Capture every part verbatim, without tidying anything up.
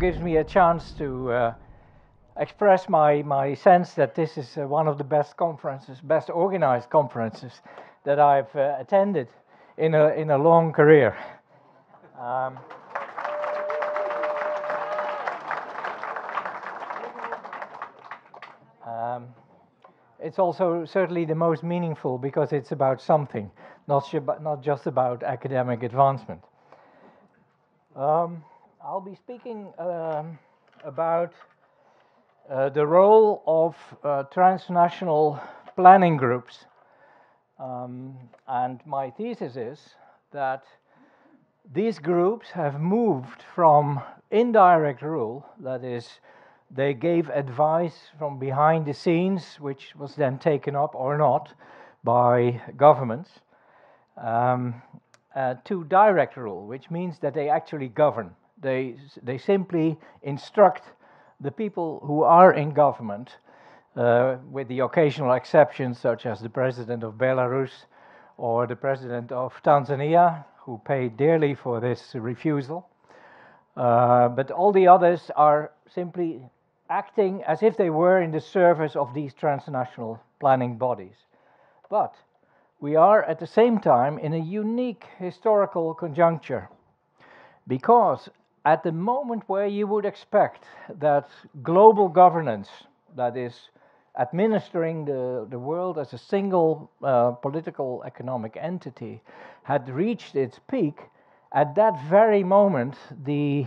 gives me a chance to uh, express my, my sense that this is uh, one of the best conferences, best organized conferences that I've uh, attended in a, in a long career. Um, um, it's also certainly the most meaningful because it's about something, not, not just about academic advancement. Um, I'll be speaking um, about uh, the role of uh, transnational planning groups. Um, and my thesis is that these groups have moved from indirect rule, that is, they gave advice from behind the scenes, which was then taken up or not by governments, um, uh, to direct rule, which means that they actually govern. They, they simply instruct the people who are in government, uh, with the occasional exceptions such as the president of Belarus or the president of Tanzania, who paid dearly for this refusal. Uh, but all the others are simply acting as if they were in the service of these transnational planning bodies. But we are at the same time in a unique historical conjuncture, because at the moment where you would expect that global governance, that is, administering the, the world as a single uh, political economic entity, had reached its peak, at that very moment the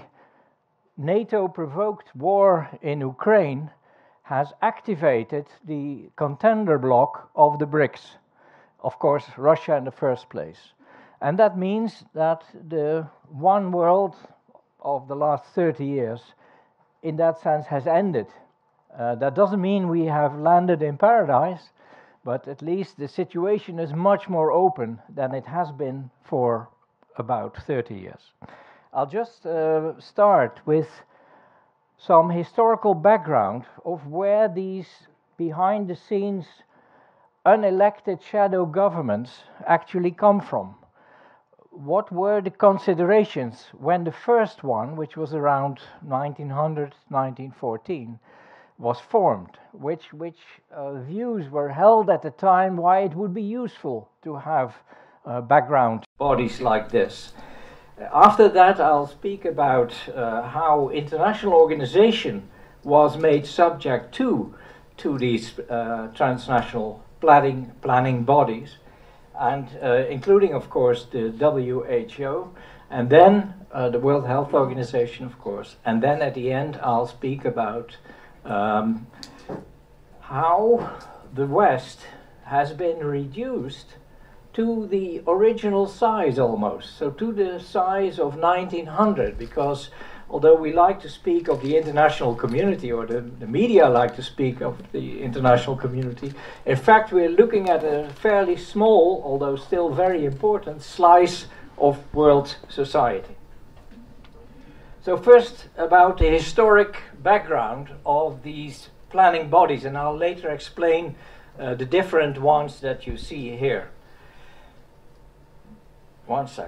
NATO-provoked war in Ukraine has activated the contender bloc of the BRICS. Of course, Russia in the first place. And that means that the one world of the last thirty years, in that sense, has ended. Uh, that doesn't mean we have landed in paradise, but at least the situation is much more open than it has been for about thirty years. I'll just uh, start with some historical background of where these behind-the-scenes unelected shadow governments actually come from. What were the considerations when the first one, which was around nineteen hundred, nineteen fourteen, was formed? Which, which uh, views were held at the time why it would be useful to have uh, background bodies like this? After that, I'll speak about uh, how international organization was made subject to, to these uh, transnational planning, planning bodies, and uh, including, of course, the W H O, and then uh, the World Health Organization, of course. And then at the end, I'll speak about um, how the West has been reduced to the original size almost, so to the size of nineteen hundred, because although we like to speak of the international community, or the, the media like to speak of the international community, in fact we're looking at a fairly small, although still very important, slice of world society. So first about the historic background of these planning bodies, and I'll later explain uh, the different ones that you see here. One sec.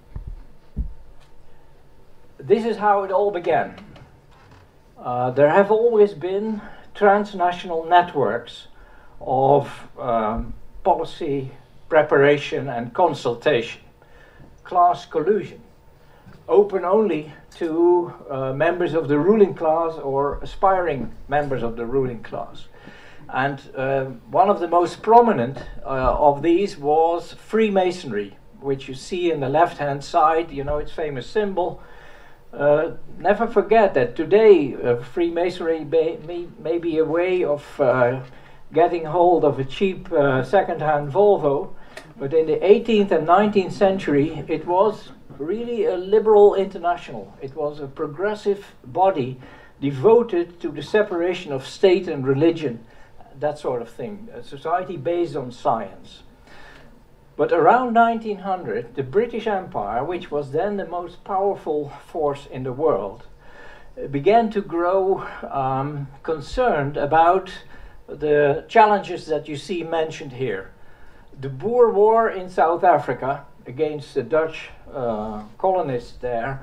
This is how it all began. Uh, there have always been transnational networks of um, policy preparation and consultation, class collusion, open only to uh, members of the ruling class or aspiring members of the ruling class. And uh, one of the most prominent uh, of these was Freemasonry, which you see in the left-hand side, you know, its famous symbol. Uh, never forget that today uh, Freemasonry may, may, may be a way of uh, getting hold of a cheap uh, second-hand Volvo, but in the eighteenth and nineteenth century it was really a liberal international. It was a progressive body devoted to the separation of state and religion, that sort of thing, a society based on science. But around nineteen hundred, the British Empire, which was then the most powerful force in the world, began to grow um, concerned about the challenges that you see mentioned here. The Boer War in South Africa against the Dutch uh, colonists there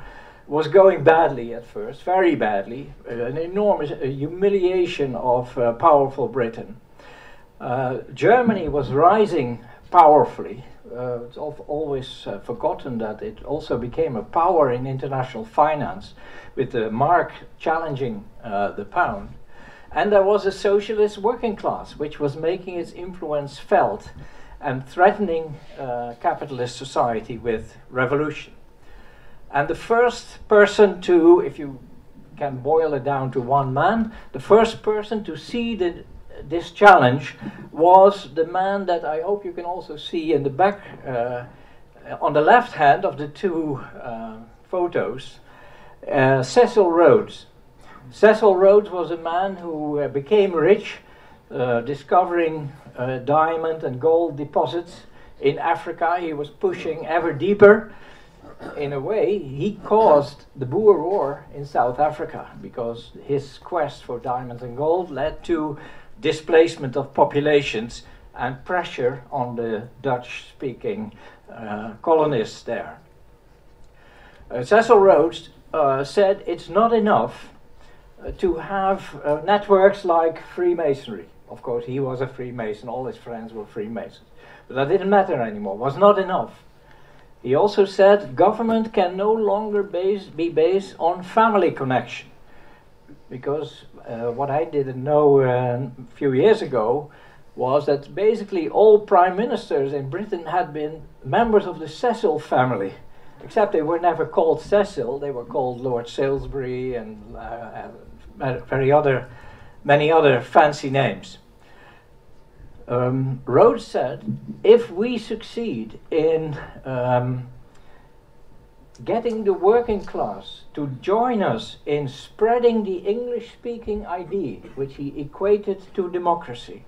was going badly at first, very badly, uh, an enormous uh, humiliation of uh, powerful Britain. Uh, Germany was rising powerfully. Uh, it's al always uh, forgotten that it also became a power in international finance, with the mark challenging uh, the pound. And there was a socialist working class which was making its influence felt and threatening uh, capitalist society with revolution. And the first person to, if you can boil it down to one man, the first person to see the, this challenge was the man that I hope you can also see in the back, uh, on the left hand of the two uh, photos, uh, Cecil Rhodes. Cecil Rhodes was a man who uh, became rich, uh, discovering uh, diamond and gold deposits in Africa. He was pushing ever deeper. In a way, he caused the Boer War in South Africa, because his quest for diamonds and gold led to displacement of populations and pressure on the Dutch-speaking uh, colonists there. Uh, Cecil Rhodes uh, said it's not enough uh, to have uh, networks like Freemasonry. Of course, he was a Freemason, all his friends were Freemasons. But that didn't matter anymore, it was not enough. He also said government can no longer base, be based on family connection. Because uh, what I didn't know uh, a few years ago was that basically all prime ministers in Britain had been members of the Cecil family. Except they were never called Cecil, they were called Lord Salisbury and uh, uh, very other, many other fancy names. Um, Rhodes said, if we succeed in um, getting the working class to join us in spreading the English-speaking idea, which he equated to democracy,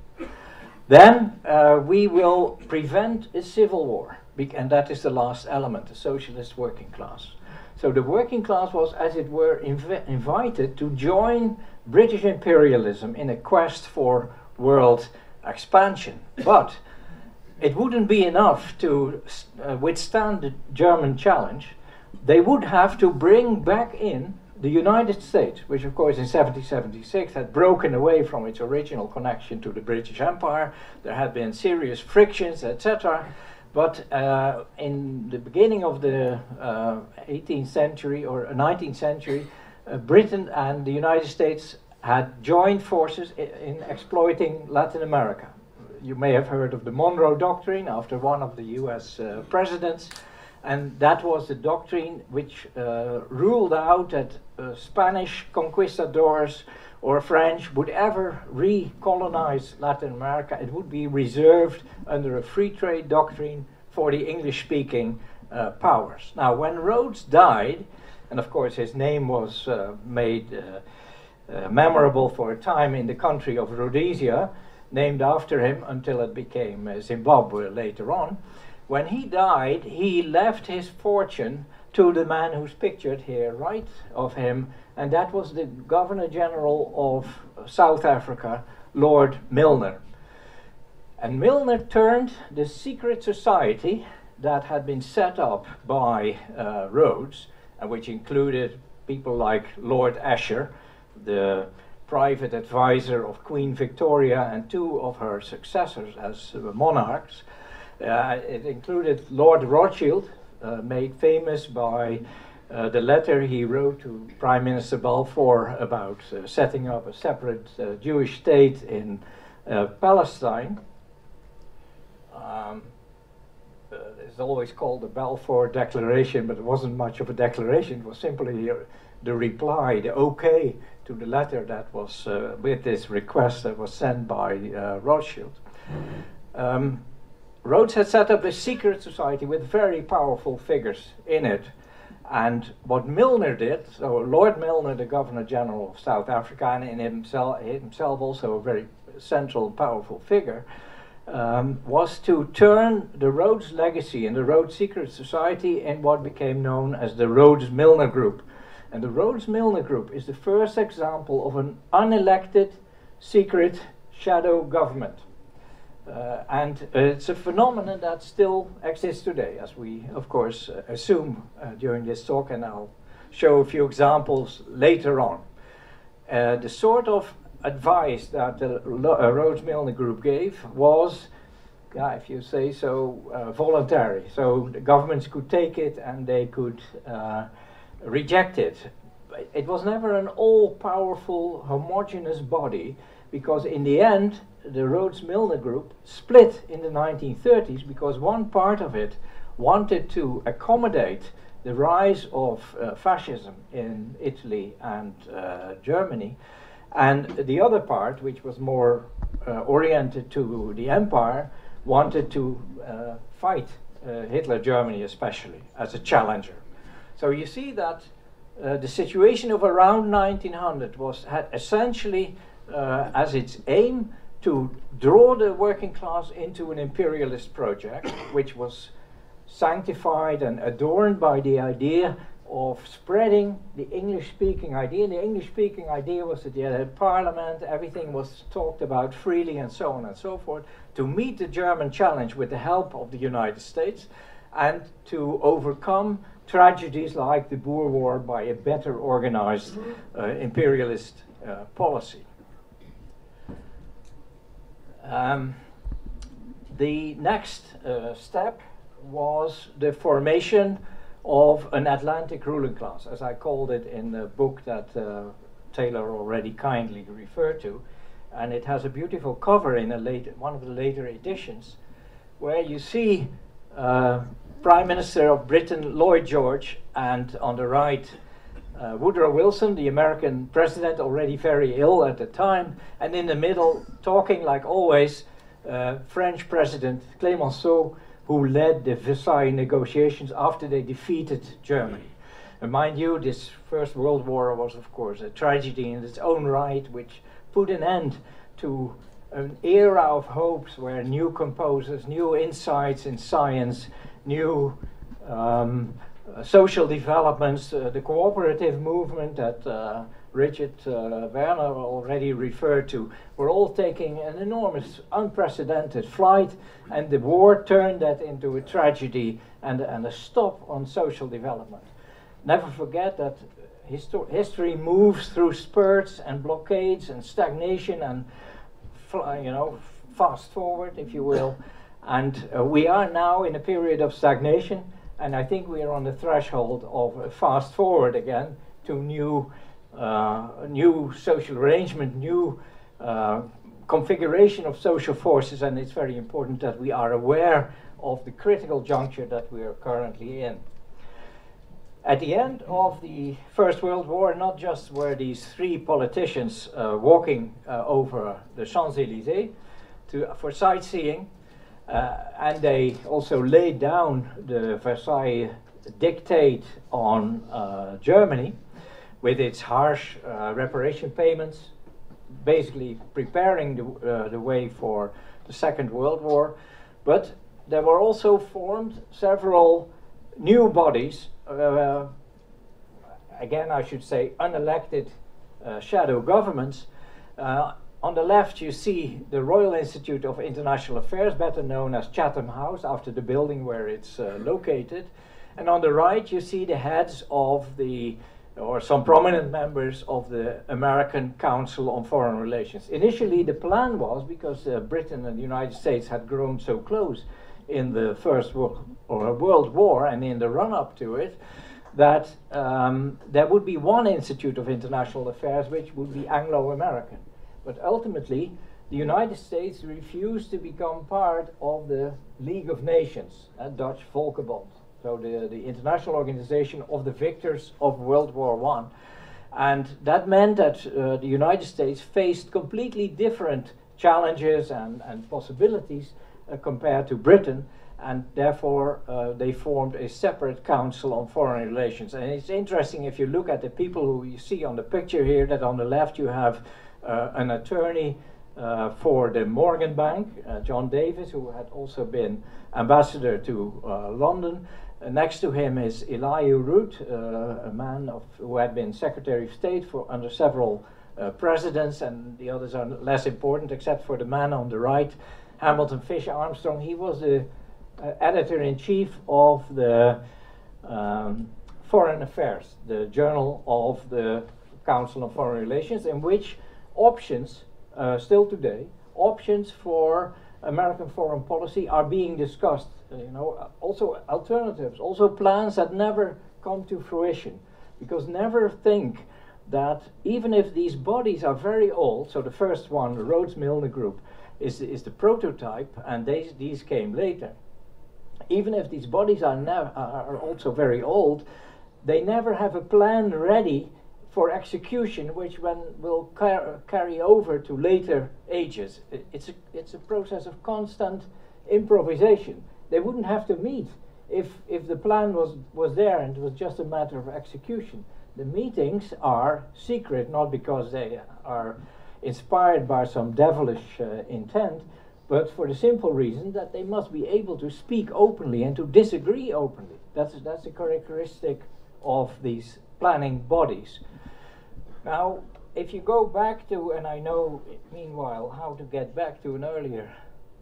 then uh, we will prevent a civil war. And that is the last element, the socialist working class. So the working class was, as it were, inv invited to join British imperialism in a quest for world expansion. But it wouldn't be enough to uh, withstand the German challenge. They would have to bring back in the United States, which of course in seventeen seventy-six had broken away from its original connection to the British Empire. There had been serious frictions, et cetera. But uh, in the beginning of the uh, eighteenth century or nineteenth century, uh, Britain and the United States had joined forces in, in exploiting Latin America. You may have heard of the Monroe Doctrine after one of the U S uh, presidents, and that was the doctrine which uh, ruled out that uh, Spanish conquistadors or French would ever recolonize Latin America. It would be reserved under a free trade doctrine for the English-speaking uh, powers. Now, when Rhodes died, and of course his name was uh, made uh, uh, memorable for a time in the country of Rhodesia, named after him until it became uh, Zimbabwe later on. When he died, he left his fortune to the man who's pictured here, right of him, and that was the Governor General of South Africa, Lord Milner. And Milner turned the secret society that had been set up by uh, Rhodes, and which included people like Lord Asher, the private advisor of Queen Victoria and two of her successors as uh, monarchs. Uh, it included Lord Rothschild, uh, made famous by uh, the letter he wrote to Prime Minister Balfour about uh, setting up a separate uh, Jewish state in uh, Palestine. Um, uh, it's always called the Balfour Declaration, but it wasn't much of a declaration. It was simply uh, the reply, the okay to the letter that was uh, with this request that was sent by uh, Rothschild. Um, Rhodes had set up a secret society with very powerful figures in it. And what Milner did, so Lord Milner, the Governor General of South Africa, and in himself, himself also a very central, powerful figure, um, was to turn the Rhodes legacy and the Rhodes Secret Society in what became known as the Rhodes-Milner Group. And the Rhodes-Milner Group is the first example of an unelected secret shadow government. Uh, and uh, it's a phenomenon that still exists today, as we, of course, uh, assume uh, during this talk, and I'll show a few examples later on. Uh, the sort of advice that the uh, Rhodes-Milne Group gave was, yeah, if you say so, uh, voluntary. So the governments could take it and they could uh, reject it. It was never an all-powerful, homogeneous body, because in the end, the Rhodes-Milne Group split in the nineteen thirties because one part of it wanted to accommodate the rise of uh, fascism in Italy and uh, Germany, and the other part, which was more uh, oriented to the empire, wanted to uh, fight uh, Hitler Germany especially as a challenger. So you see that uh, the situation of around nineteen hundred was had essentially uh, as its aim to draw the working class into an imperialist project, which was sanctified and adorned by the idea of spreading the English-speaking idea. And the English-speaking idea was that you had a parliament, everything was talked about freely and so on and so forth, to meet the German challenge with the help of the United States and to overcome tragedies like the Boer War by a better organized uh, imperialist uh, policy. Um, the next uh, step was the formation of an Atlantic ruling class, as I called it in the book that uh, Taylor already kindly referred to. And it has a beautiful cover in a later, one of the later editions, where you see uh, Prime Minister of Britain Lloyd George, and on the right uh, Woodrow Wilson, the American president, already very ill at the time, and in the middle, talking like always, uh, French President Clemenceau, who led the Versailles negotiations after they defeated Germany. And mind you, this First World War was, of course, a tragedy in its own right, which put an end to an era of hopes where new composers, new insights in science, new um, uh, social developments, uh, the cooperative movement that uh, Richard uh, Werner already referred to, were all taking an enormous, unprecedented flight, and the war turned that into a tragedy and, and a stop on social development. Never forget that histo history moves through spurts and blockades and stagnation and, you know, fast forward, if you will. And uh, we are now in a period of stagnation, and I think we are on the threshold of a fast forward again to new Uh, new social arrangement, new uh, configuration of social forces, and it's very important that we are aware of the critical juncture that we are currently in. At the end of the First World War, not just were these three politicians uh, walking uh, over the Champs-Élysées to, for sightseeing, uh, and they also laid down the Versailles dictate on uh, Germany, with its harsh uh, reparation payments, basically preparing the, uh, the way for the Second World War. But there were also formed several new bodies, uh, again I should say unelected uh, shadow governments. Uh, on the left you see the Royal Institute of International Affairs, better known as Chatham House, after the building where it's uh, located. And on the right you see the heads of the or some prominent members of the American Council on Foreign Relations. Initially, the plan was, because uh, Britain and the United States had grown so close in the First World, or World War and in the run-up to it, that um, there would be one Institute of International Affairs which would be Anglo-American. But ultimately, the United States refused to become part of the League of Nations, a Dutch Volkenbond. So the, the international organization of the victors of World War One. And that meant that uh, the United States faced completely different challenges and, and possibilities uh, compared to Britain, and therefore uh, they formed a separate Council on Foreign Relations. And it's interesting if you look at the people who you see on the picture here, that on the left you have uh, an attorney uh, for the Morgan Bank, uh, John Davis, who had also been ambassador to uh, London. Uh, next to him is Elihu Root, uh, a man of, who had been Secretary of State for under several uh, presidents, and the others are less important except for the man on the right, Hamilton Fisher Armstrong. He was the uh, editor-in-chief of the um, Foreign Affairs, the journal of the Council on Foreign Relations, in which options, uh, still today, options for American foreign policy are being discussed. Uh, you know, also alternatives, also plans that never come to fruition. Because never think that even if these bodies are very old, so the first one, the Rhodes-Milner Group, is, is the prototype, and they, these came later. Even if these bodies are, nev are also very old, they never have a plan ready for execution, which one will car carry over to later ages. It, it's, a, it's a process of constant improvisation. They wouldn't have to meet if, if the plan was, was there and it was just a matter of execution. The meetings are secret, not because they are inspired by some devilish uh, intent, but for the simple reason that they must be able to speak openly and to disagree openly. That's, that's a characteristic of these planning bodies. Now, if you go back to, and I know meanwhile how to get back to an earlier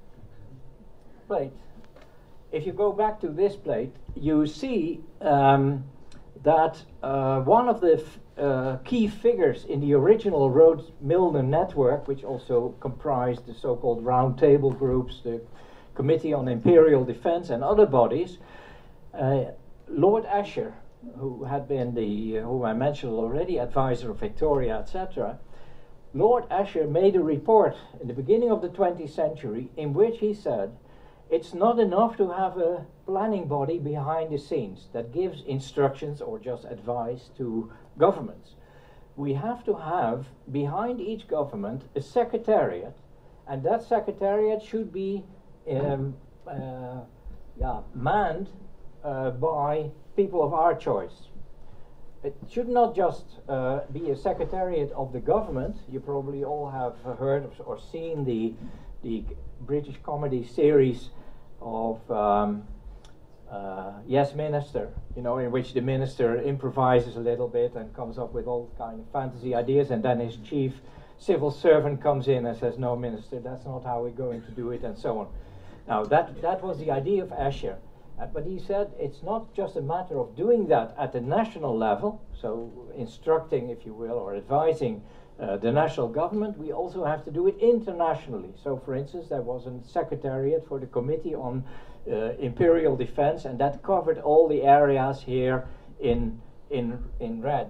plate, if you go back to this plate, you see um, that uh, one of the f uh, key figures in the original Rhodes-Milner network, which also comprised the so-called round table groups, the Committee on Imperial Defense and other bodies, uh, Lord Asher, who had been the, uh, whom I mentioned already, advisor of Victoria, et cetera, Lord Asher made a report in the beginning of the twentieth century in which he said, it's not enough to have a planning body behind the scenes that gives instructions or just advice to governments. We have to have behind each government a secretariat, and that secretariat should be um, uh, yeah, manned uh, by people of our choice. It should not just uh, be a secretariat of the government. You probably all have uh, heard or seen the, the British comedy series of um, uh, Yes Minister, you know, in which the minister improvises a little bit and comes up with all kind of fantasy ideas, and then his chief civil servant comes in and says, no, minister, that's not how we're going to do it, and so on. Now, that, that was the idea of Asher. Uh, but he said it's not just a matter of doing that at the national level, so instructing, if you will, or advising uh, the national government. We also have to do it internationally. So, for instance, there was a secretariat for the Committee on uh, Imperial Defense, and that covered all the areas here in, in, in red.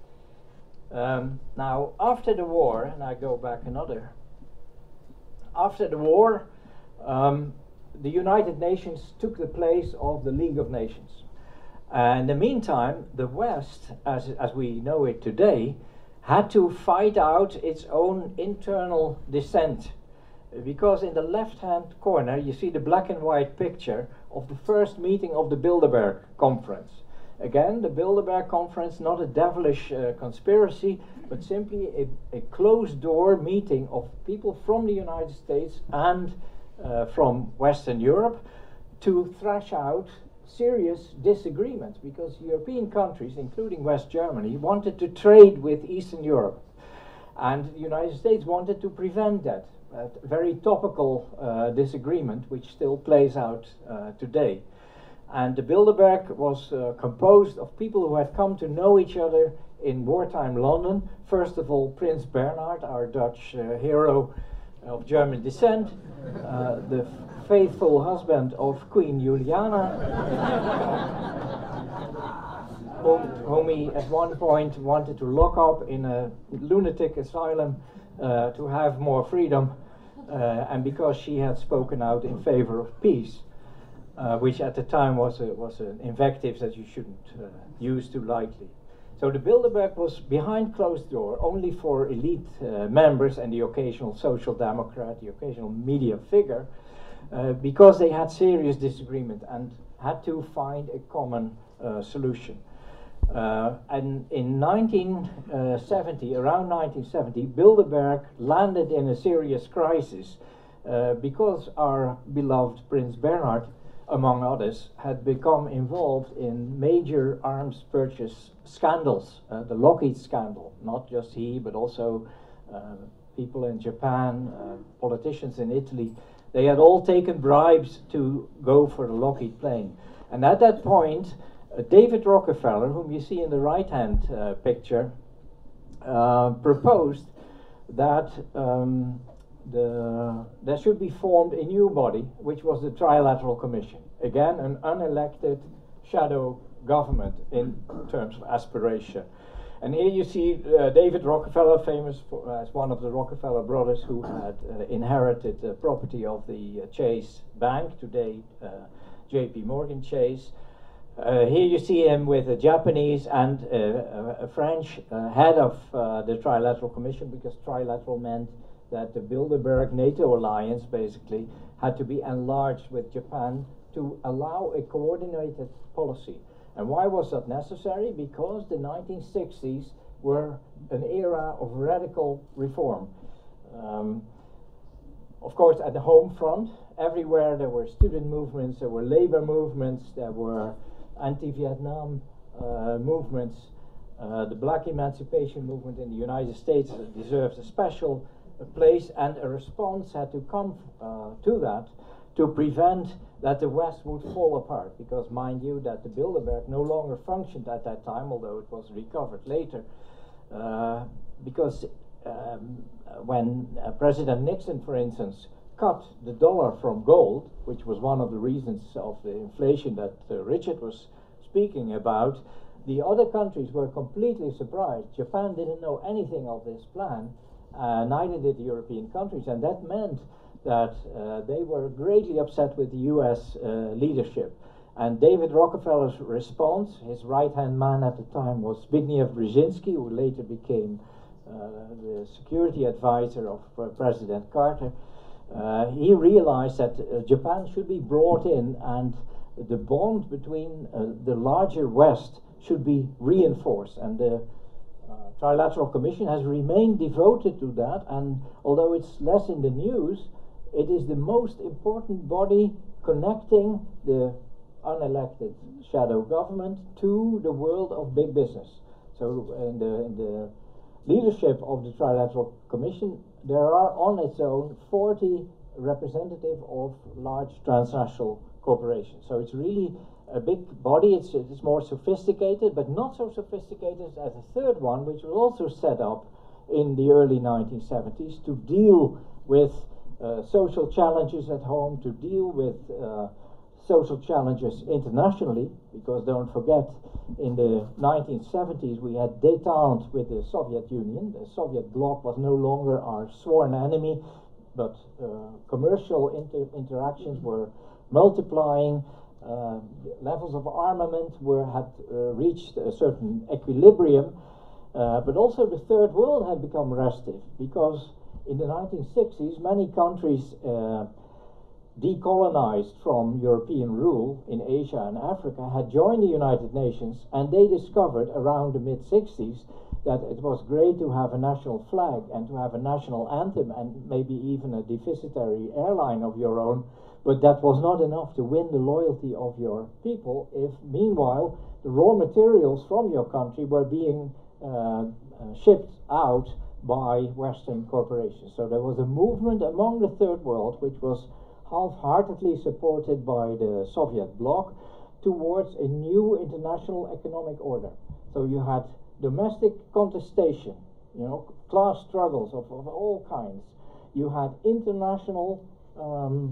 Um, now, after the war, and I go back another, after the war, um, the United Nations took the place of the League of Nations. And in the meantime, the West, as, as we know it today, had to fight out its own internal dissent. Because in the left-hand corner, you see the black and white picture of the first meeting of the Bilderberg Conference. Again, the Bilderberg Conference, not a devilish uh, conspiracy, but simply a, a closed-door meeting of people from the United States and Uh, from Western Europe to thrash out serious disagreements, because European countries, including West Germany, wanted to trade with Eastern Europe, and the United States wanted to prevent that. A very topical uh, disagreement which still plays out uh, today. And the Bilderberg was uh, composed of people who had come to know each other in wartime London. First of all, Prince Bernhard, our Dutch uh, hero of German descent, uh, the faithful husband of Queen Juliana, whom, whom he at one point wanted to lock up in a lunatic asylum uh, to have more freedom, uh, and because she had spoken out in favor of peace, uh, which at the time was, a, was an invective that you shouldn't uh, use too lightly. So the Bilderberg was behind closed door, only for elite uh, members and the occasional social democrat, the occasional media figure, uh, because they had serious disagreement and had to find a common uh, solution. Uh, and in nineteen seventy, around nineteen seventy, Bilderberg landed in a serious crisis uh, because our beloved Prince Bernhard, among others, had become involved in major arms purchase scandals. Uh, the Lockheed scandal, not just he, but also uh, people in Japan, uh, politicians in Italy. They had all taken bribes to go for the Lockheed plane. And at that point, Uh, David Rockefeller, whom you see in the right-hand uh, picture, uh, proposed that um, the, there should be formed a new body, which was the Trilateral Commission. Again, an unelected shadow government in terms of aspiration. And here you see uh, David Rockefeller, famous for, as one of the Rockefeller brothers who had uh, inherited the property of the uh, Chase Bank, today uh, J P Morgan Chase. Uh, here you see him with a Japanese and uh, a, a French uh, head of uh, the Trilateral Commission, because trilateral meant that the Bilderberg NATO alliance basically had to be enlarged with Japan to allow a coordinated policy. And why was that necessary? Because the nineteen sixties were an era of radical reform. Um, of course, at the home front, everywhere there were student movements, there were labor movements, there were anti-Vietnam uh, movements. Uh, the black emancipation movement in the United States deserves a special uh, place, and a response had to come uh, to that to prevent that the West would fall apart, because mind you that the Bilderberg no longer functioned at that time, although it was recovered later, uh, because um, when uh, President Nixon, for instance, cut the dollar from gold, which was one of the reasons of the inflation that uh, Richard was speaking about, the other countries were completely surprised. Japan didn't know anything of this plan, uh, neither did the European countries, and that meant that uh, they were greatly upset with the U S uh, leadership. And David Rockefeller's response, his right-hand man at the time was Zbigniew Brzezinski, who later became uh, the security advisor of uh, President Carter. Uh, he realized that uh, Japan should be brought in, and the bond between uh, the larger West should be reinforced. And the uh, Trilateral Commission has remained devoted to that, and although it's less in the news, it is the most important body connecting the unelected shadow government to the world of big business. So in the, in the leadership of the Trilateral Commission, there are on its own forty representatives of large transnational corporations. So it's really a big body. It's, it's more sophisticated, but not so sophisticated as a third one, which was also set up in the early nineteen seventies to deal with uh, social challenges at home, to deal with uh, social challenges internationally, because don't forget, in the nineteen seventies we had détente with the Soviet Union. The Soviet bloc was no longer our sworn enemy, but uh, commercial inter interactions were multiplying. Uh, levels of armament were had uh, reached a certain equilibrium, uh, but also the third world had become restive, because in the nineteen sixties many countries uh, decolonized from European rule in Asia and Africa had joined the United Nations, and they discovered around the mid sixties that it was great to have a national flag and to have a national anthem and maybe even a deficitary airline of your own, but that was not enough to win the loyalty of your people if meanwhile the raw materials from your country were being uh, uh, shipped out by Western corporations. So there was a movement among the third world which was half-heartedly supported by the Soviet bloc towards a new international economic order. So you had domestic contestation, you know, class struggles of, of all kinds. You had international, um,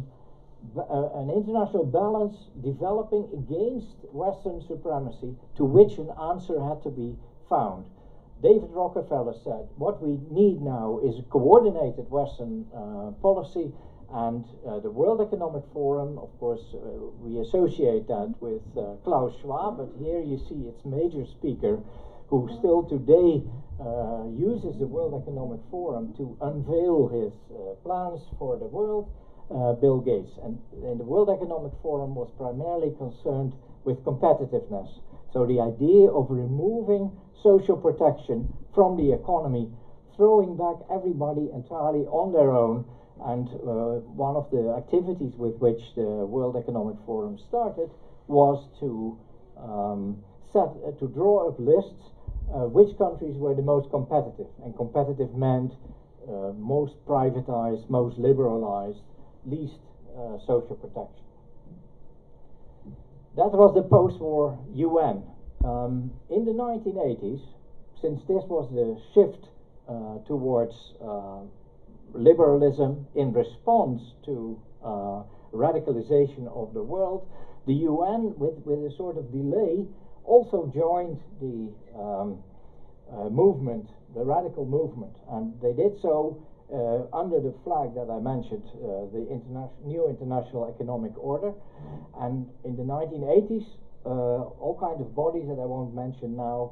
uh, an international balance developing against Western supremacy, to which an answer had to be found. David Rockefeller said, what we need now is a coordinated Western uh, policy. And uh, the World Economic Forum, of course, uh, we associate that with uh, Klaus Schwab, but here you see its major speaker, who still today uh, uses the World Economic Forum to unveil his uh, plans for the world, uh, Bill Gates. And, and the World Economic Forum was primarily concerned with competitiveness. So the idea of removing social protection from the economy, throwing back everybody entirely on their own. And uh, one of the activities with which the World Economic Forum started was to um, set, uh, to draw up lists uh, which countries were the most competitive. And competitive meant uh, most privatized, most liberalized, least uh, social protection. That was the post-war U N. Um, in the nineteen eighties, since this was the shift uh, towards uh, liberalism in response to uh, radicalization of the world, the U N, with, with a sort of delay, also joined the um, uh, movement, the radical movement, and they did so uh, under the flag that I mentioned, uh, the interna new international economic order. And in the nineteen eighties, uh, all kinds of bodies that I won't mention now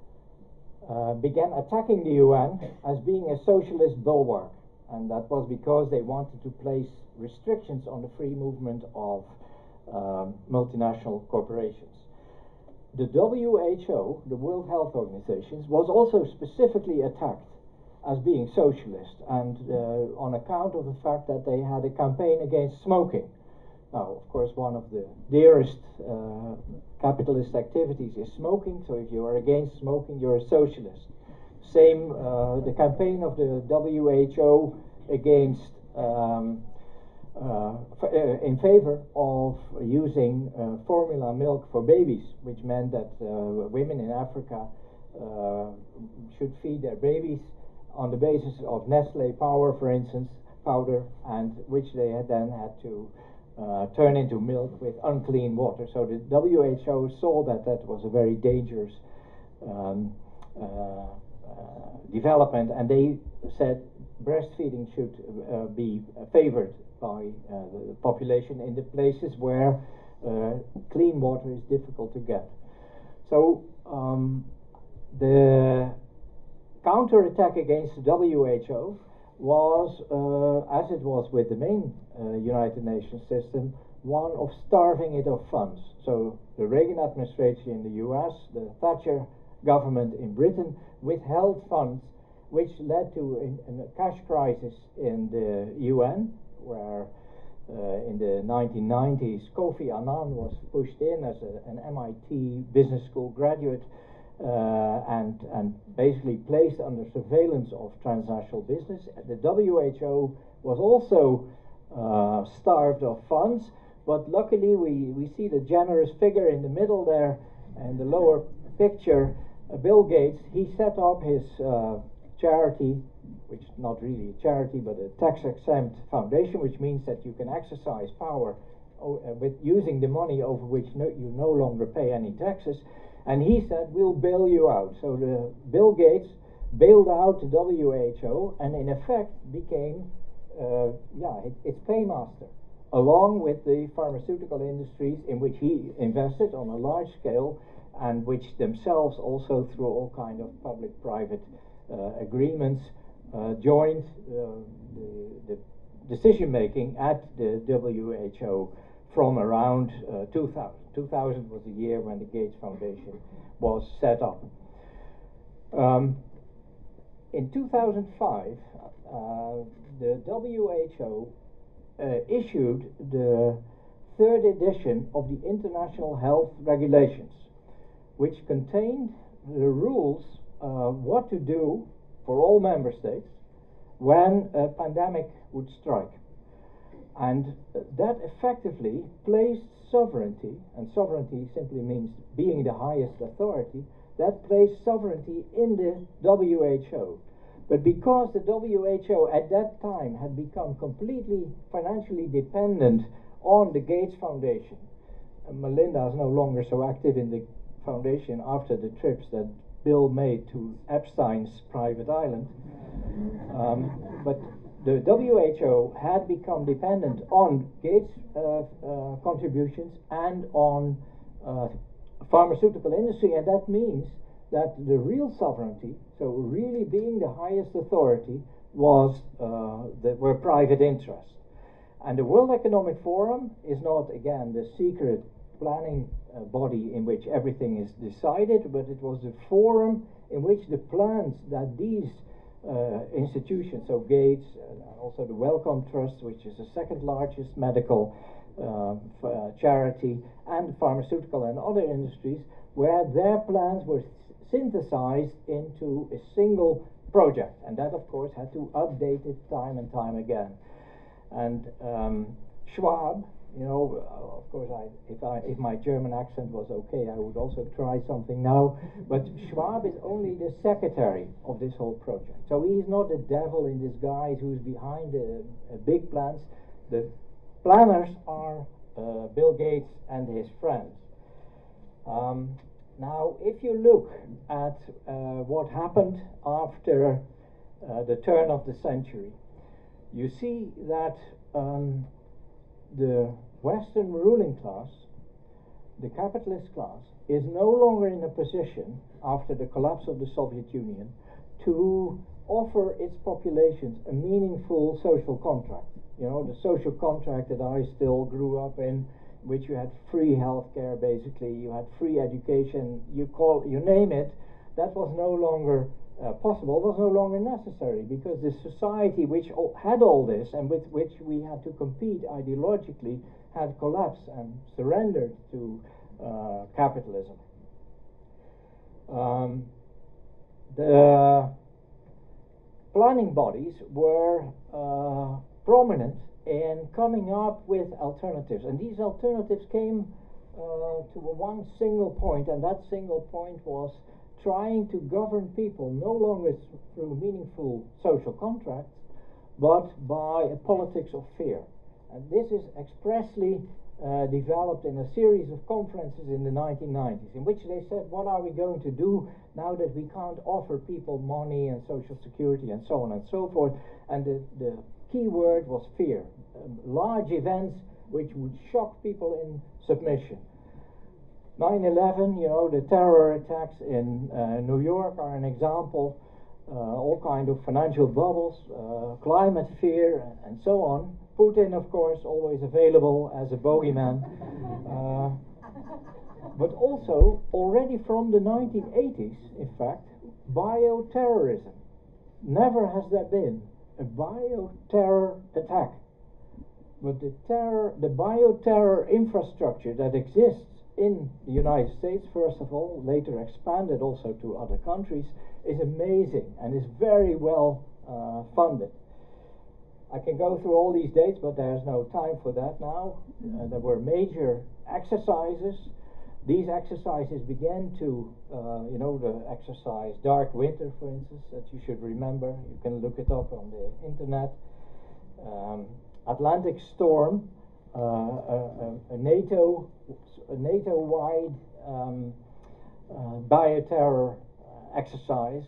uh, began attacking the U N as being a socialist bulwark, and that was because they wanted to place restrictions on the free movement of um, multinational corporations. The W H O, the World Health Organization, was also specifically attacked as being socialist, and uh, on account of the fact that they had a campaign against smoking. Now, of course, one of the dearest uh, capitalist activities is smoking, so if you are against smoking, you're a socialist. Same, uh, the campaign of the W H O against um, Uh, uh, in favor of using uh, formula milk for babies, which meant that uh, women in Africa uh, should feed their babies on the basis of Nestle Power, for instance, powder, and which they had then had to uh, turn into milk with unclean water. So the W H O saw that that was a very dangerous um, uh, uh, development, and they said breastfeeding should uh, be favored by uh, the population in the places where uh, clean water is difficult to get. So um, the counterattack against the W H O was, uh, as it was with the main uh, United Nations system, one of starving it of funds. So the Reagan administration in the U S, the Thatcher government in Britain withheld funds, which led to in, in a cash crisis in the U N, where uh, in the nineteen nineties Kofi Annan was pushed in as a, an M I T business school graduate uh, and, and basically placed under surveillance of transnational business. The W H O was also uh, starved of funds, but luckily we, we see the generous figure in the middle there, and the lower picture, uh, Bill Gates. He set up his uh, charity, which is not really a charity, but a tax-exempt foundation, which means that you can exercise power o uh, with using the money over which no, you no longer pay any taxes. And he said, we'll bail you out. So the Bill Gates bailed out the W H O and in effect became uh, yeah, it, its paymaster, along with the pharmaceutical industries in which he invested on a large scale, and which themselves also through all kind of public-private uh, agreements uh, joined uh, the, the decision-making at the W H O from around uh, two thousand. two thousand was the year when the Gates Foundation was set up. Um, in two thousand five, uh, the W H O uh, issued the third edition of the International Health Regulations, which contained the rules uh, what to do for all member states when a pandemic would strike. And uh, that effectively placed sovereignty, and sovereignty simply means being the highest authority, that placed sovereignty in the W H O. But because the W H O at that time had become completely financially dependent on the Gates Foundation, and Melinda is no longer so active in the foundation after the trips that Bill made to Epstein's private island, um, but the W H O had become dependent on Gates uh, uh, contributions and on uh, pharmaceutical industry, and that means that the real sovereignty, so really being the highest authority, was uh, the, were private interests. And the World Economic Forum is not, again, the secret planning uh, body in which everything is decided, but it was the forum in which the plans that these uh, institutions, so Gates, uh, also the Wellcome Trust, which is the second largest medical uh, f uh, charity, and pharmaceutical and other industries, where their plans were synthesized into a single project. And that, of course, had to update it time and time again. And um, Schwab, you know, uh, of course, I, if I, if my German accent was okay, I would also try something now. But Schwab is only the secretary of this whole project. So he's not the devil in disguise who's behind the uh, big plans. The planners are uh, Bill Gates and his friends. Um, now, if you look at uh, what happened after uh, the turn of the century, you see that um, the Western ruling class, the capitalist class, is no longer in a position, after the collapse of the Soviet Union, to offer its populations a meaningful social contract. You know, the social contract that I still grew up in, which you had free healthcare, basically, you had free education, you call, you name it, that was no longer uh, possible, was no longer necessary, because the society which all had all this and with which we had to compete ideologically had collapsed and surrendered to uh, capitalism. Um, the planning bodies were uh, prominent in coming up with alternatives, and these alternatives came uh, to one single point, and that single point was trying to govern people no longer th through meaningful social contracts, but by a politics of fear. And this is expressly uh, developed in a series of conferences in the nineteen nineties, in which they said, what are we going to do now that we can't offer people money and social security and so on and so forth? And the, the key word was fear. Um, large events which would shock people in submission. nine eleven, you know, the terror attacks in uh, New York are an example. Uh, all kind of financial bubbles, uh, climate fear, and so on. Putin, of course, always available as a bogeyman. Uh, but also, already from the nineteen eighties, in fact, bioterrorism. Never has there been a bioterror attack. But the terror, the bioterror infrastructure that exists in the United States, first of all, later expanded also to other countries, is amazing and is very well uh, funded. I can go through all these dates, but there's no time for that now. Uh, there were major exercises. These exercises began to, uh, you know, the exercise Dark Winter, for instance, that you should remember. You can look it up on the internet. Um, Atlantic Storm, uh, a, a, a NATO, a NATO-wide um, uh, bioterror exercise.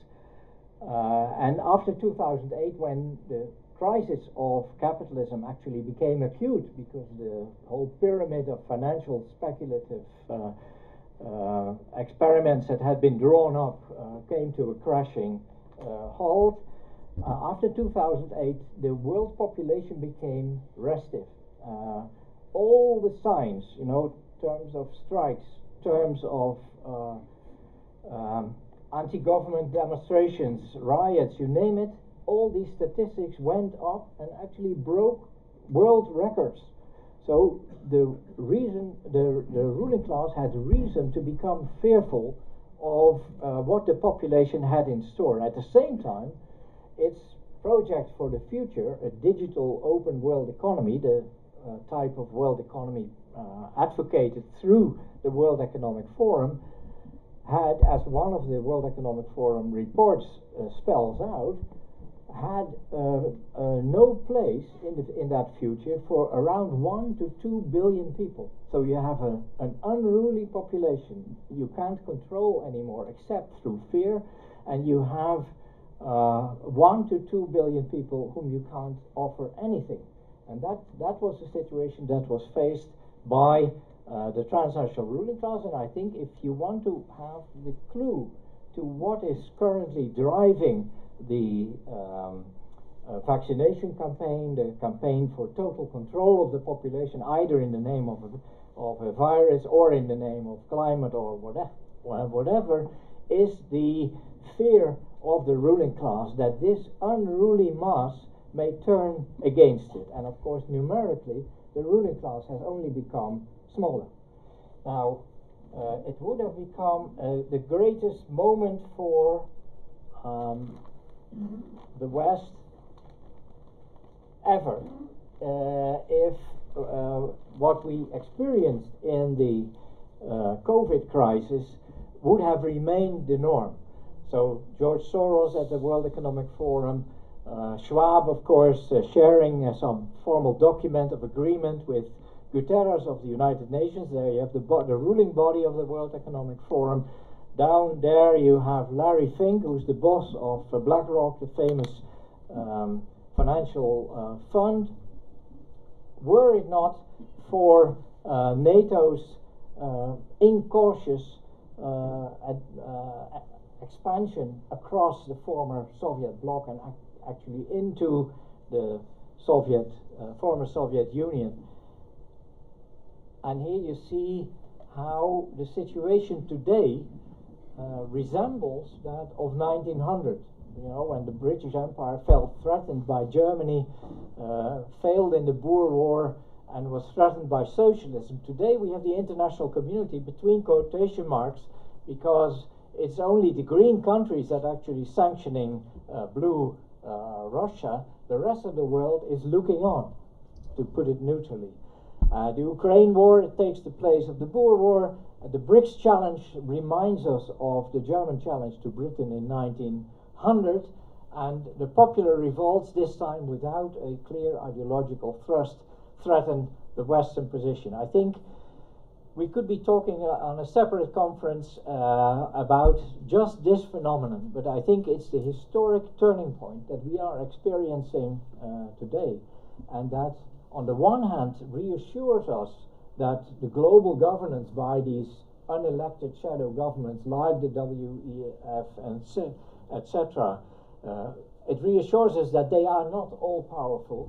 Uh, and after two thousand eight, when the crisis of capitalism actually became acute, because the whole pyramid of financial speculative uh, uh, experiments that had been drawn up uh, came to a crashing uh, halt. Uh, after two thousand eight, the world population became restive. Uh, all the signs, you know, terms of strikes, terms of uh, um, anti-government demonstrations, riots, you name it, all these statistics went up and actually broke world records. So the reason, the, the ruling class had reason to become fearful of uh, what the population had in store. At the same time, its project for the future, a digital open world economy, the uh, type of world economy uh, advocated through the World Economic Forum, had, as one of the World Economic Forum reports uh, spells out, had uh, uh, no place in, the, in that future for around one to two billion people. So you have a, an unruly population you can't control anymore except through fear, and you have uh, one to two billion people whom you can't offer anything. And that, that was the situation that was faced by uh, the transnational ruling class. And I think if you want to have the clue to what is currently driving the um, uh, vaccination campaign, the campaign for total control of the population, either in the name of a, of a virus or in the name of climate or whatever, whatever, is the fear of the ruling class that this unruly mass may turn against it. And of course, numerically, the ruling class has only become smaller. Now, uh, it would have become uh, the greatest moment for um, the West ever uh, if uh, what we experienced in the uh, COVID crisis would have remained the norm. So George Soros at the World Economic Forum, uh, Schwab, of course, uh, sharing uh, some formal document of agreement with Guterres of the United Nations. There you have the, bo the ruling body of the World Economic Forum. Down there you have Larry Fink, who's the boss of uh, BlackRock, the famous um, financial uh, fund. Were it not for uh, NATO's uh, incautious uh, ad, uh, expansion across the former Soviet bloc and ac actually into the Soviet, uh, former Soviet Union. And here you see how the situation today uh, resembles that of nineteen hundred. You know, when the British Empire felt threatened by Germany, uh, failed in the Boer War, and was threatened by socialism. Today we have the international community between quotation marks, because it's only the green countries that are actually sanctioning uh, blue uh, Russia. The rest of the world is looking on, to put it neutrally. Uh, the Ukraine war, it takes the place of the Boer War. Uh, the BRICS challenge reminds us of the German challenge to Britain in nineteen hundred, and the popular revolts, this time without a clear ideological thrust, threaten the Western position. I think we could be talking uh, on a separate conference uh, about just this phenomenon, but I think it's the historic turning point that we are experiencing uh, today, and that on the one hand reassures us that the global governance by these unelected shadow governments like the W E F and et cetera, uh, it reassures us that they are not all powerful,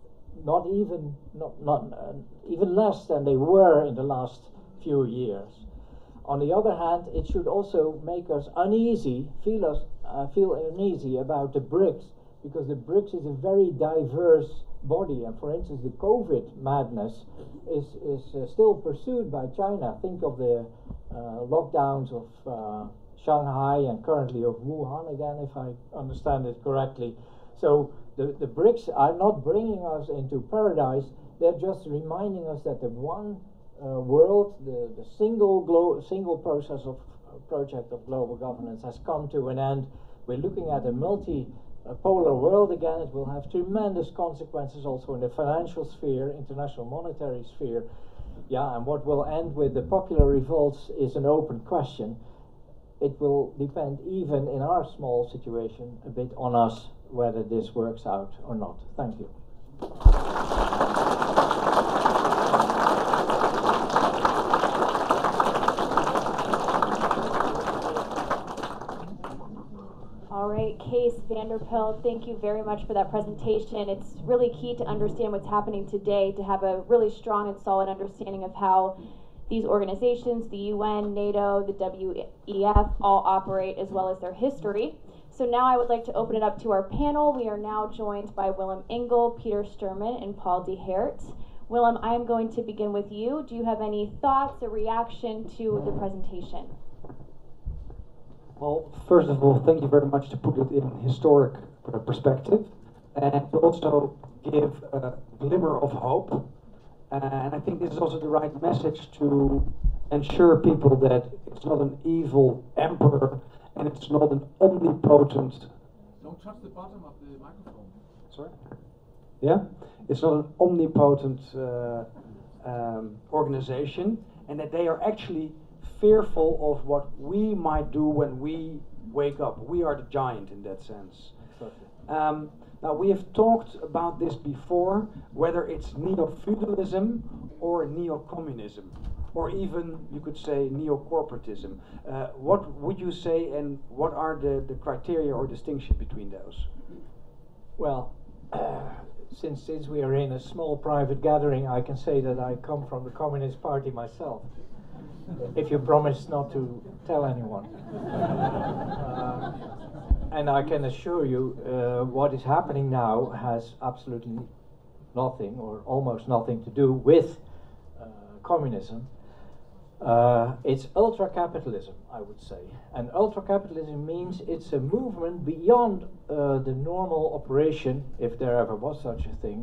not even not not uh, even less than they were in the last few years. On the other hand, it should also make us uneasy, feel us uh, feel uneasy about the BRICS, because the BRICS is a very diverse body, and for instance, the COVID madness is is uh, still pursued by China. Think of the uh, lockdowns of uh, Shanghai and currently of Wuhan again, if I understand it correctly. So the, the BRICS are not bringing us into paradise, they're just reminding us that the one uh, world, the, the single glo single process of uh, project of global governance has come to an end. We're looking at a multi-polar world again. It will have tremendous consequences also in the financial sphere, international monetary sphere. Yeah, and what will end with the popular revolts is an open question. It will depend, even in our small situation, a bit on us whether this works out or not. Thank you. All right, Kees van der Pijl, thank you very much for that presentation. It's really key to understand what's happening today, to have a really strong and solid understanding of how these organizations, the U N, NATO, the W E F, all operate, as well as their history. So now I would like to open it up to our panel. We are now joined by Willem Engel, Peter Sturman, and Paul de Heert. Willem, I am going to begin with you. Do you have any thoughts or reaction to the presentation? Well, first of all, thank you very much to put it in historic uh, perspective, and to also give a glimmer of hope. Uh, and I think this is also the right message to ensure people that it's not an evil emperor and it's not an omnipotent... Don't touch the bottom of the microphone. Sorry? Yeah? It's not an omnipotent uh, um, organization, and that they are actually fearful of what we might do when we wake up. We are the giant in that sense. Um, now, we have talked about this before, whether it's neo-feudalism or neo-communism, or even, you could say, neo-corporatism. Uh, what would you say, and what are the, the criteria or distinction between those? Well, uh, since, since we are in a small private gathering, I can say that I come from the Communist Party myself, if you promise not to tell anyone. uh, And I can assure you, uh, what is happening now has absolutely nothing, or almost nothing, to do with uh, communism. Uh, it's ultra-capitalism, I would say. And ultra-capitalism means it's a movement beyond uh, the normal operation, if there ever was such a thing,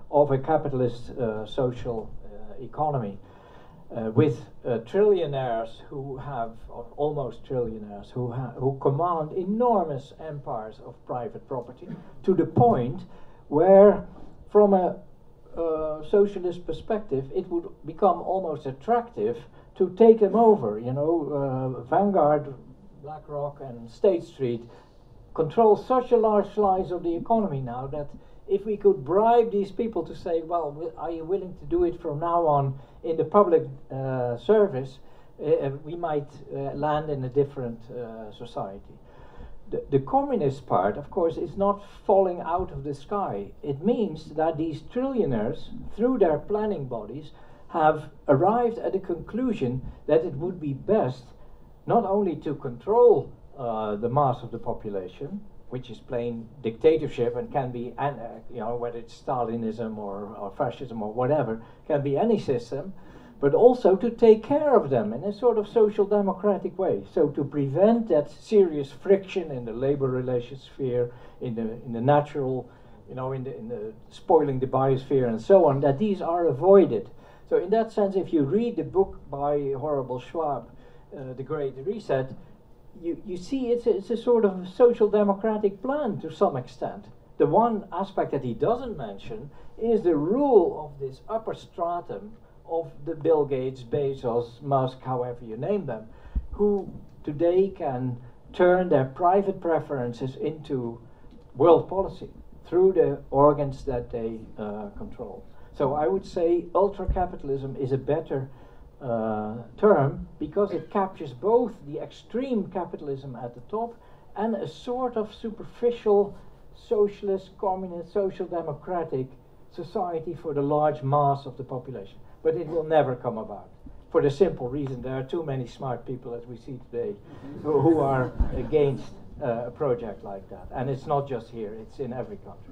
of a capitalist uh, social uh, economy. Uh, with uh, trillionaires who have, or almost trillionaires, who, ha who command enormous empires of private property, to the point where, from a uh, socialist perspective, it would become almost attractive to take them over. You know, uh, Vanguard, BlackRock, and State Street control such a large slice of the economy now that if we could bribe these people to say, well, are you willing to do it from now on in the public uh, service, uh, we might uh, land in a different uh, society. The, the communist part, of course, is not falling out of the sky. It means that these trillionaires, through their planning bodies, have arrived at a conclusion that it would be best not only to control uh, the mass of the population, which is plain dictatorship and can be, uh, you know, whether it's Stalinism or, or fascism or whatever, can be any system, but also to take care of them in a sort of social democratic way. So to prevent that serious friction in the labor relations sphere, in the in the natural, you know, in the in the spoiling the biosphere and so on, that these are avoided. So in that sense, if you read the book by Horrible Schwab, uh, The Great Reset, You, you see it's a, it's a sort of social democratic plan to some extent. The one aspect that he doesn't mention is the rule of this upper stratum of the Bill Gates, Bezos, Musk, however you name them, who today can turn their private preferences into world policy through the organs that they uh, control. So I would say ultra-capitalism is a better Uh, term because it captures both the extreme capitalism at the top and a sort of superficial socialist, communist, social democratic society for the large mass of the population. But it will never come about, for the simple reason there are too many smart people, as we see today, who, who are against uh, a project like that. And it's not just here, it's in every country.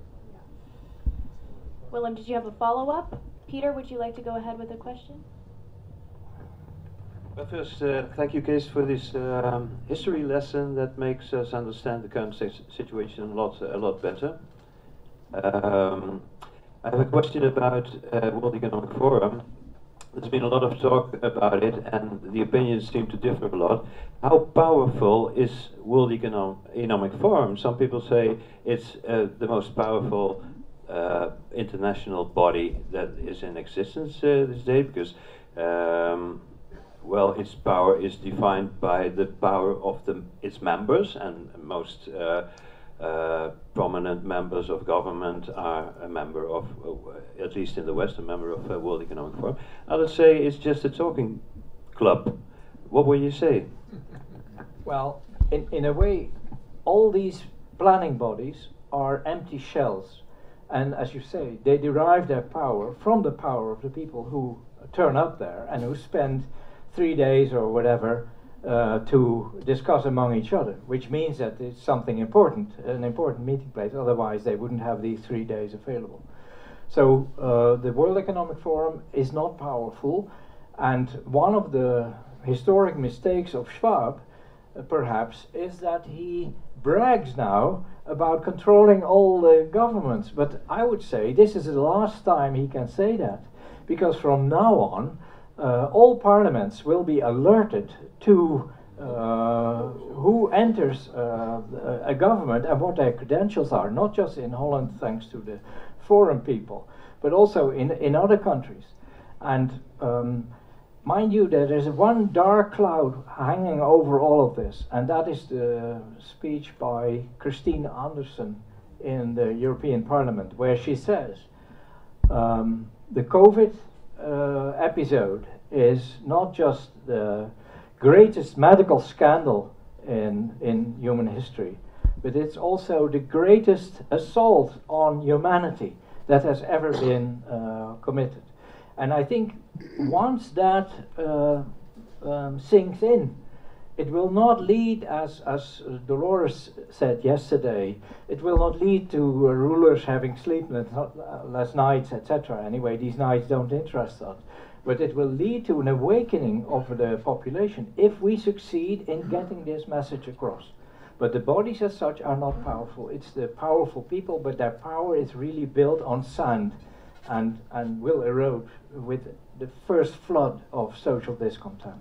Willem, did you have a follow-up? Peter, would you like to go ahead with a question? Well, first, uh, thank you, Kees, for this um, history lesson that makes us understand the current situation a lot, a lot better. Um, I have a question about uh, World Economic Forum. There's been a lot of talk about it, and the opinions seem to differ a lot. How powerful is World Economic, Economic Forum? Some people say it's uh, the most powerful uh, international body that is in existence uh, this day, because um, well, its power is defined by the power of the, its members, and most uh, uh, prominent members of government are a member of, uh, at least in the West, a member of uh, World Economic Forum. Others say it's just a talking club. What will you say? Well, in, in a way, all these planning bodies are empty shells. And as you say, they derive their power from the power of the people who turn up there and who spend three days or whatever uh, to discuss among each other, which means that it's something important, an important meeting place, otherwise they wouldn't have these three days available. So uh, the World Economic Forum is not powerful, and one of the historic mistakes of Schwab, uh, perhaps, is that he brags now about controlling all the governments, but I would say this is the last time he can say that, because from now on Uh, all parliaments will be alerted to uh, who enters uh, a government and what their credentials are, not just in Holland thanks to the foreign people, but also in, in other countries. And um, mind you, there is one dark cloud hanging over all of this, and that is the speech by Christine Anderson in the European Parliament, where she says um, the COVID Uh, episode is not just the greatest medical scandal in in human history, but it's also the greatest assault on humanity that has ever been uh, committed. And I think once that uh, um, sinks in, it will not lead, as, as Dolores said yesterday, it will not lead to uh, rulers having sleepless nights, et cetera. Anyway, these nights don't interest us. But it will lead to an awakening of the population if we succeed in getting this message across. But the bodies as such are not powerful. It's the powerful people, but their power is really built on sand and, and will erode with the first flood of social discontent.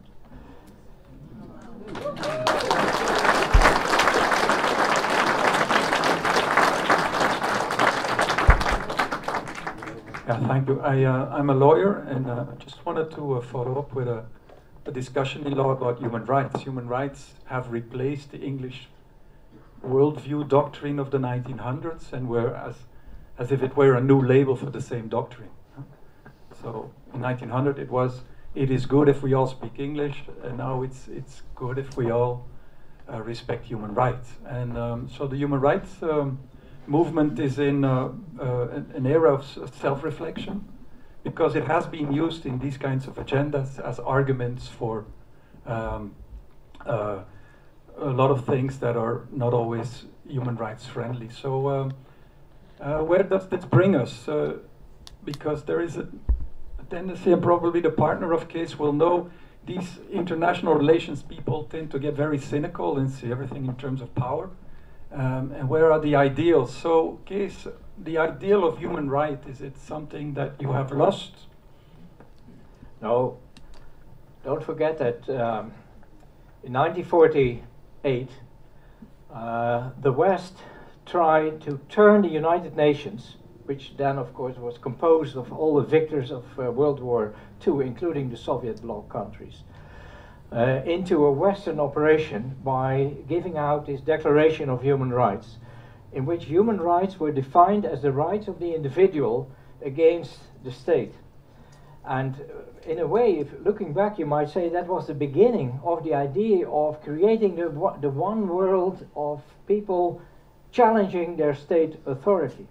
Yeah, thank you. I, uh, I'm a lawyer, and uh, I just wanted to uh, follow up with a, a discussion in law about human rights. Human rights have replaced the English worldview doctrine of the nineteen hundreds, and were as, as if it were a new label for the same doctrine. So in nineteen hundred it was, it is good if we all speak English, and now it's, it's good if we all uh, respect human rights. And um, so the human rights um, movement is in uh, uh, an era of self-reflection, because it has been used in these kinds of agendas as arguments for um, uh, a lot of things that are not always human rights friendly. So um, uh, where does this bring us? Uh, because there is a, a tendency, and probably the partner of Kees will know, these international relations people tend to get very cynical and see everything in terms of power. Um, and where are the ideals? So, Kees, the ideal of human right, is it something that you have lost? No, don't forget that um, in nineteen forty-eight, uh, the West tried to turn the United Nations, which then of course was composed of all the victors of uh, World War Two, including the Soviet bloc countries, Uh, into a Western operation by giving out this Declaration of Human Rights, in which human rights were defined as the rights of the individual against the state. And uh, in a way, if looking back, you might say that was the beginning of the idea of creating the, the one world of people challenging their state authority.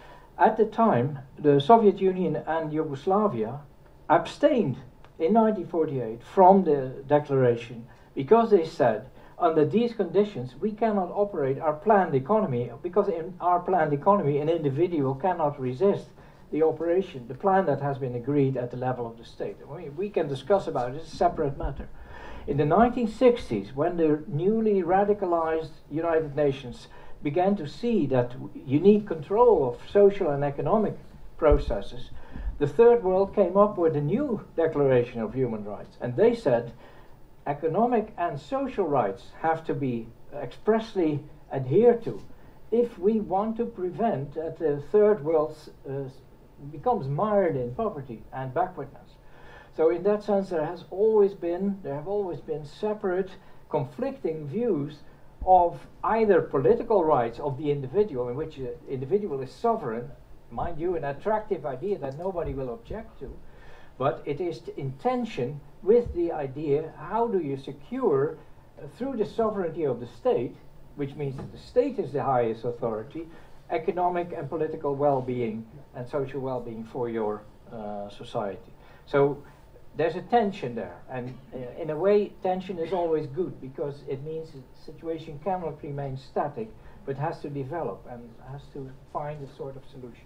At the time, the Soviet Union and Yugoslavia abstained in nineteen forty-eight from the declaration, because they said, under these conditions we cannot operate our planned economy, because in our planned economy an individual cannot resist the operation, the plan that has been agreed at the level of the state. I mean, we can discuss about it, it's a separate matter. In the nineteen sixties, when the newly radicalized United Nations began to see that you need control of social and economic processes, the Third World came up with a new Declaration of Human Rights, and they said economic and social rights have to be expressly adhered to if we want to prevent that the Third World uh, becomes mired in poverty and backwardness. So in that sense, there has always been, there have always been separate, conflicting views of either political rights of the individual, in which the individual is sovereign, mind you, an attractive idea that nobody will object to, but it is in tension with the idea, how do you secure, uh, through the sovereignty of the state, which means that the state is the highest authority, economic and political well-being and social well-being for your uh, society. So there's a tension there, and uh, in a way tension is always good, because it means the situation cannot remain static, but has to develop and has to find a sort of solution.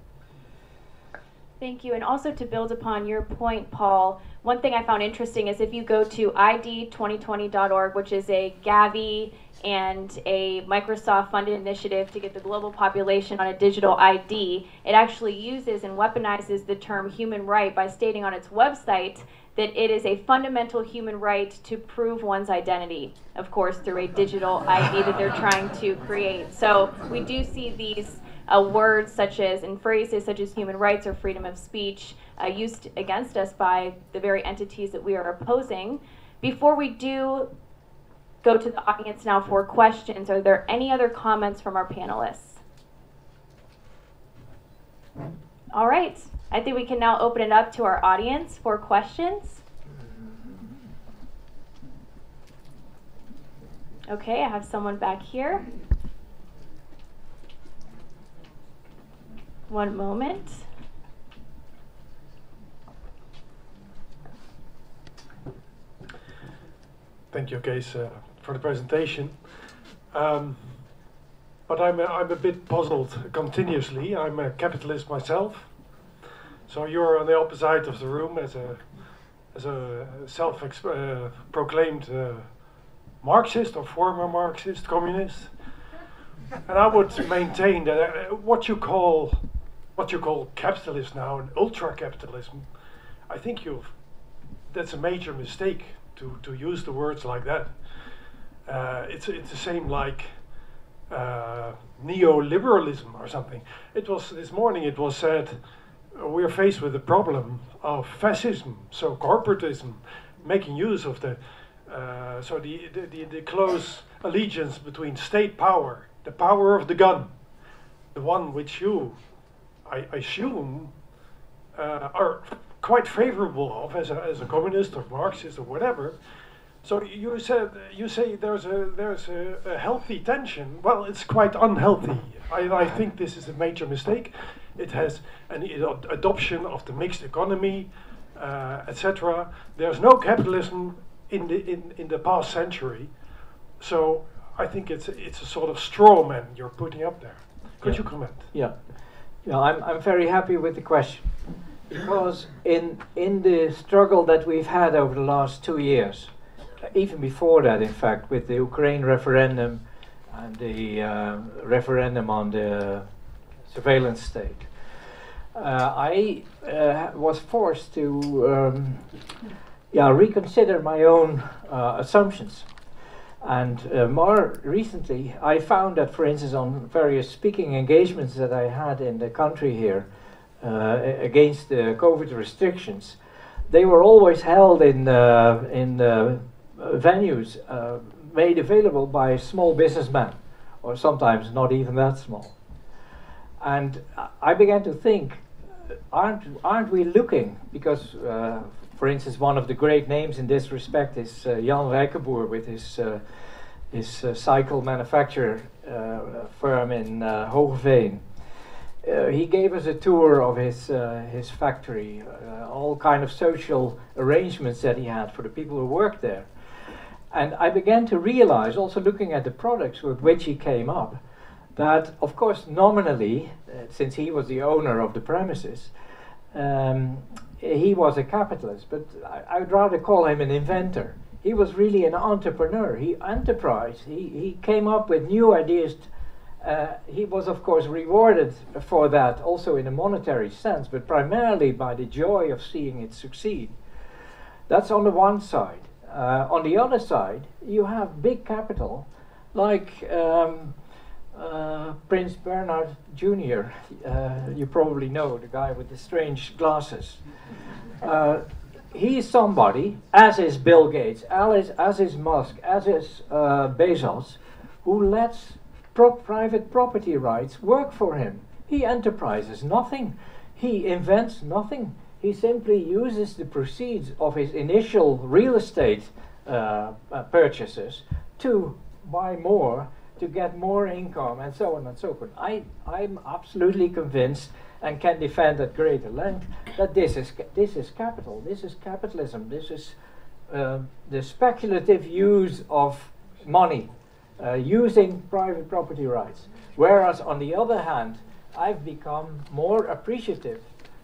Thank you. And also to build upon your point, Paul, one thing I found interesting is if you go to I D twenty twenty dot org, which is a Gavi and a Microsoft-funded initiative to get the global population on a digital I D, it actually uses and weaponizes the term human right by stating on its website that it is a fundamental human right to prove one's identity, of course, through a digital I D that they're trying to create. So we do see these Uh, words such as, and phrases such as human rights or freedom of speech uh, used against us by the very entities that we are opposing. Before we do go to the audience now for questions, are there any other comments from our panelists? All right, I think we can now open it up to our audience for questions. Okay, I have someone back here. One moment. Thank you, Kees, uh, for the presentation. Um, but I'm a, I'm a bit puzzled continuously. I'm a capitalist myself. So you're on the opposite of the room as a as a self-proclaimed uh, Marxist or former Marxist, communist. And I would maintain that uh, what you call what you call capitalism now and ultra-capitalism, I think you've, that's a major mistake to, to use the words like that. Uh, it's, it's the same like uh, neoliberalism or something. It was, this morning it was said, uh, we're faced with the problem of fascism, so corporatism, making use of the, uh, so the, the, the, the close allegiance between state power, the power of the gun, the one which you, I assume, uh, are quite favorable of as a, as a communist or Marxist or whatever. So you said you say there's a there's a, a healthy tension. Well, it's quite unhealthy. I, I think this is a major mistake. It has an ad adoption of the mixed economy, uh, et cetera. There's no capitalism in the in, in the past century. So I think it's it's a sort of straw man you're putting up there. Could Yeah. you comment? Yeah, yeah. I'm I'm very happy with the question, because in in the struggle that we've had over the last two years, even before that, in fact, with the Ukraine referendum and the uh, referendum on the surveillance state, uh, I uh, was forced to um, yeah reconsider my own uh, assumptions. And uh, more recently, I found that, for instance, on various speaking engagements that I had in the country here uh, against the COVID restrictions, they were always held in uh, in uh, venues uh, made available by small businessmen, or sometimes not even that small. And I began to think, aren't aren't we looking? Because, uh, for instance, one of the great names in this respect is uh, Jan Rijkenboer with his uh, his uh, cycle manufacturer uh, firm in uh, Hoogeveen. Uh, he gave us a tour of his uh, his factory, uh, all kind of social arrangements that he had for the people who worked there. And I began to realize, also looking at the products with which he came up, that of course nominally, uh, since he was the owner of the premises, um, he was a capitalist, but I, I would rather call him an inventor. He was really an entrepreneur. He enterprised. He, he came up with new ideas. Uh, he was, of course, rewarded for that also in a monetary sense, but primarily by the joy of seeing it succeed. That's on the one side. Uh, on the other side, you have big capital, like um, uh, Prince Bernhard Junior Uh, you probably know, the guy with the strange glasses. Uh, he's somebody, as is Bill Gates, as, as is Musk, as is uh, Bezos, who lets pro private property rights work for him. He enterprises nothing. He invents nothing. He simply uses the proceeds of his initial real estate uh, uh, purchases to buy more, to get more income, and so on and so forth. I, I'm absolutely convinced and can defend at greater length that this is, this is capital, this is capitalism, this is uh, the speculative use of money, uh, using private property rights. Whereas on the other hand, I've become more appreciative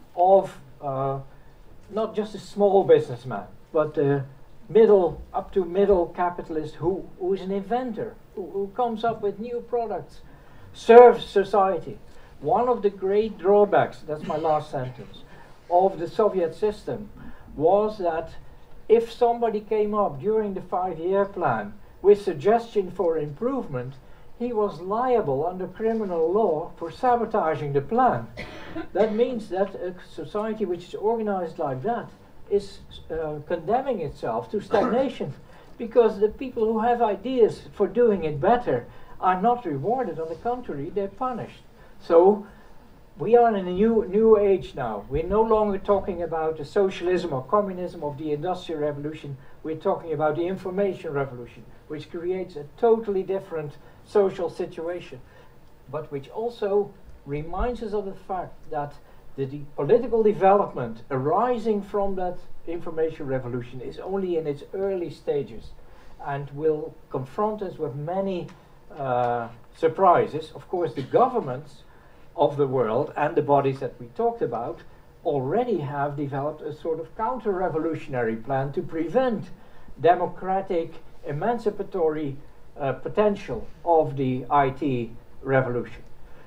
of uh, not just a small businessman, but a middle, up to middle capitalist who, who is an inventor, who, who comes up with new products, serves society. One of the great drawbacks, that's my last sentence, of the Soviet system was that if somebody came up during the five-year plan with suggestion for improvement, he was liable under criminal law for sabotaging the plan. That means that a society which is organized like that is uh, condemning itself to stagnation, because the people who have ideas for doing it better are not rewarded. On the contrary, they're punished. So we are in a new new age now. We're no longer talking about the socialism or communism of the Industrial Revolution. We're talking about the information revolution, which creates a totally different social situation, but which also reminds us of the fact that the de political development arising from that information revolution is only in its early stages and will confront us with many uh, surprises. Of course, the governments of the world and the bodies that we talked about already have developed a sort of counter-revolutionary plan to prevent democratic, emancipatory uh, potential of the I T revolution.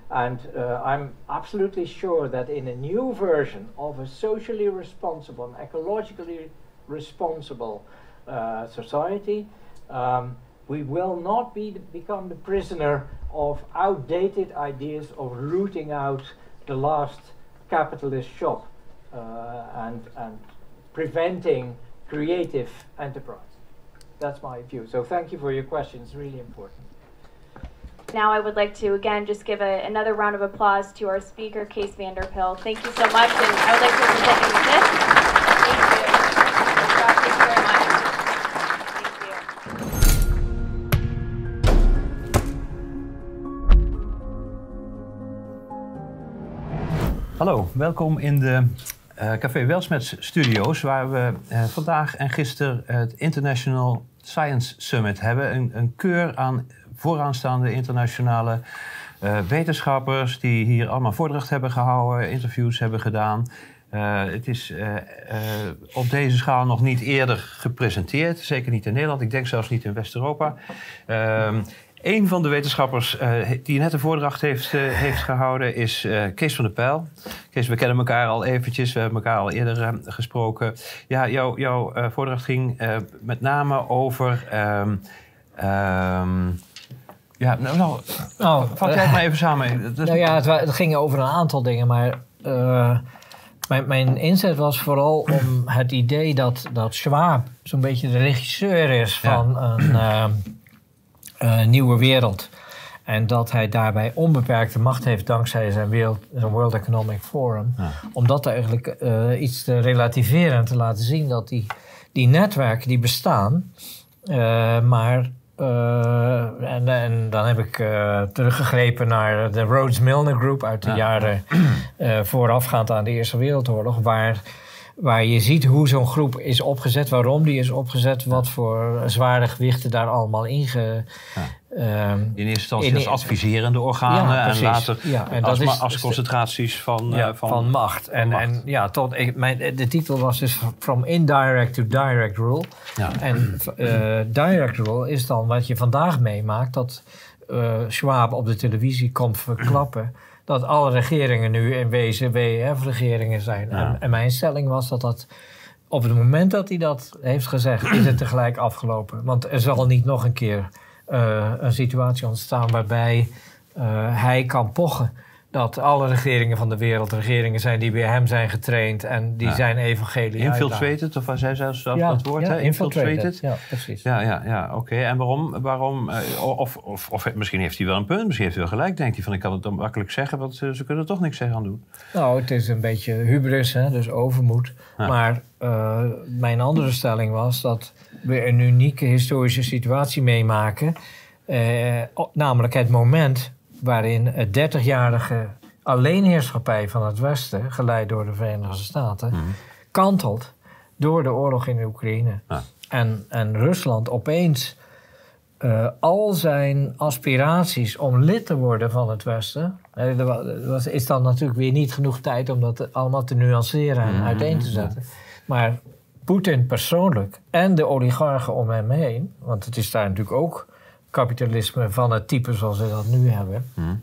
And uh, I'm absolutely sure that in a new version of a socially responsible and ecologically responsible uh, society, um, we will not be the, become the prisoner of outdated ideas of rooting out the last capitalist shop uh, and, and preventing creative enterprise. That's my view. So thank you for your question. It's really important. Now I would like to again just give a, another round of applause to our speaker, Kees van der Pijl. Thank you so much, and I would like to present you with this. Thank you. Scott, thank you very much. Thank you. Hallo, welkom in de uh, Café Welsmets studio's, waar we uh, vandaag en gisteren het International Science Summit hebben. Een, een keur aan vooraanstaande internationale uh, wetenschappers die hier allemaal voordracht hebben gehouden, interviews hebben gedaan. Uh, het is uh, uh, op deze schaal nog niet eerder gepresenteerd, zeker niet in Nederland, ik denk zelfs niet in West-Europa. Uh, Een van de wetenschappers uh, die net een voordracht heeft, uh, heeft gehouden is uh, Kees van der Pijl. Kees, we kennen elkaar al eventjes, we hebben elkaar al eerder uh, gesproken. Ja, jou, jouw uh, voordracht ging uh, met name over... Um, um, ja, nou, nou oh, vat jij het maar even samen. Dus nou ja, het, het ging over een aantal dingen, maar... Uh, Mijn, mijn inzet was vooral om het idee dat, dat Schwab zo'n beetje de regisseur is van ja. een uh, uh, nieuwe wereld. En dat hij daarbij onbeperkte macht heeft dankzij zijn, wereld, zijn World Economic Forum. Ja. Om dat eigenlijk uh, iets te relativeren en te laten zien dat die, die netwerken die bestaan, uh, maar... Uh, en, en dan heb ik uh, teruggegrepen naar de Rhodes-Milner Group uit de ja. jaren uh, voorafgaand aan de Eerste Wereldoorlog, waar, waar je ziet hoe zo'n groep is opgezet, waarom die is opgezet, wat voor zware gewichten daar allemaal inge... Ja. Um, in eerste instantie in, als adviserende organen ja, en later ja, en als, dat is, als concentraties van, ja, uh, van, van macht. En, van en macht. ja, tot, ik, mijn, de titel was dus From Indirect to Direct Rule. Ja. En uh, direct rule is dan wat je vandaag meemaakt, dat uh, Schwab op de televisie komt verklappen dat alle regeringen nu in wezen W E F-regeringen zijn. Ja. En, en mijn stelling was dat dat op het moment dat hij dat heeft gezegd, is het tegelijk afgelopen. Want er zal niet nog een keer... Uh, een situatie ontstaan waarbij uh, hij kan pochen dat alle regeringen van de wereld regeringen zijn die bij hem zijn getraind en die ja. zijn evangelie infiltrated, of was hij zelfs zelf ja, dat woord? Ja, hè? infiltrated. infiltrated. Ja, precies. Ja, ja, ja oké. Okay. En waarom? waarom uh, of, of, of misschien heeft hij wel een punt, misschien heeft hij wel gelijk. Denkt hij van, ik kan het dan makkelijk zeggen, want uh, ze kunnen er toch niks aan doen. Nou, het is een beetje hubris, hè, dus overmoed. Ja. Maar uh, mijn andere stelling was dat we een unieke historische situatie meemaken. Uh, namelijk het moment waarin het dertigjarige alleenheerschappij van het Westen, geleid door de Verenigde Staten, mm. kantelt door de oorlog in Oekraïne. Ja. En, en Rusland opeens uh, al zijn aspiraties om lid te worden van het Westen, uh, er was, is dan natuurlijk weer niet genoeg tijd om dat allemaal te nuanceren en mm. uiteen te zetten. Maar Poetin persoonlijk en de oligarchen om hem heen, want het is daar natuurlijk ook kapitalisme van het type zoals we dat nu hebben, mm.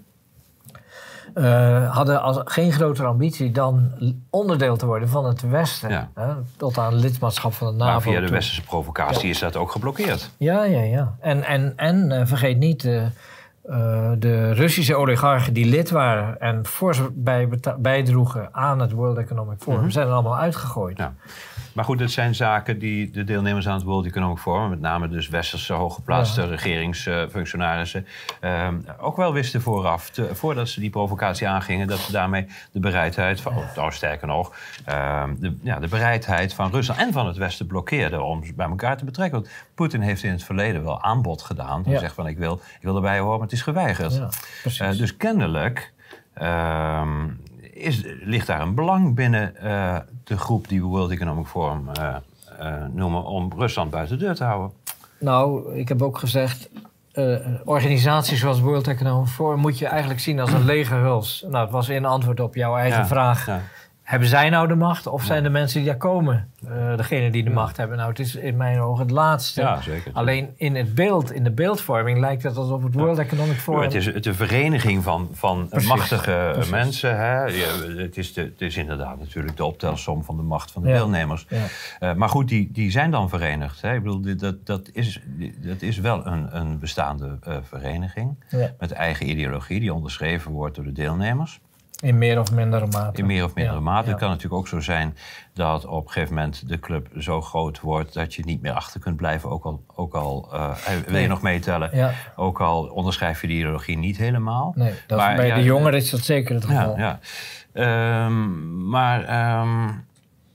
uh, hadden als, geen grotere ambitie dan onderdeel te worden van het Westen. Ja. Hè, tot aan lidmaatschap van de NAVO. Maar via de westerse provocatie ja. is dat ook geblokkeerd. Ja, ja, ja. En, en, en uh, vergeet niet, uh, uh, de Russische oligarchen die lid waren en fors bij bijdroegen aan het World Economic Forum, mm-hmm. zijn er allemaal uitgegooid. Ja. Maar goed, het zijn zaken die de deelnemers aan het World Economic Forum, met name dus westerse hooggeplaatste ja. regeringsfunctionarissen, uh, ook wel wisten vooraf, te, voordat ze die provocatie aangingen, dat ze daarmee de bereidheid van, oh, nou sterker nog, uh, de, ja, de bereidheid van Rusland en van het Westen blokkeerden om ze bij elkaar te betrekken. Want Poetin heeft in het verleden wel aanbod gedaan. Hij ja. zegt van ik wil, ik wil erbij horen, maar het is geweigerd. Ja, uh, dus kennelijk uh, is, ligt daar een belang binnen uh, de groep die we World Economic Forum uh, uh, noemen om Rusland buiten de deur te houden. Nou, ik heb ook gezegd, uh, organisaties zoals World Economic Forum moet je eigenlijk zien als een lege huls. Nou, het was in antwoord op jouw eigen ja, vraag. Ja. hebben zij nou de macht of zijn de mensen die daar komen uh, degene die de ja. macht hebben? Nou, het is in mijn ogen het laatste. Ja, zeker. Alleen in het beeld, in de beeldvorming lijkt het alsof het World ja. Economic Forum... Ja, het is de vereniging van, van Precies. machtige Precies. mensen. Hè? Ja, het, is de, het is inderdaad natuurlijk de optelsom van de macht van de ja. deelnemers. Ja. Uh, maar goed, die, die zijn dan verenigd. Hè? Ik bedoel, dat, dat, is, dat is wel een, een bestaande uh, vereniging ja. met eigen ideologie die onderschreven wordt door de deelnemers. In meer of mindere mate. In meer of mindere ja, mate. Ja. Het kan natuurlijk ook zo zijn dat op een gegeven moment de club zo groot wordt dat je niet meer achter kunt blijven. Ook al, ook al uh, wil je nog meetellen, ja. ook al onderschrijf je de ideologie niet helemaal. Nee, dat maar, bij ja, de jongeren is dat zeker het geval. Ja, ja. Um, maar um,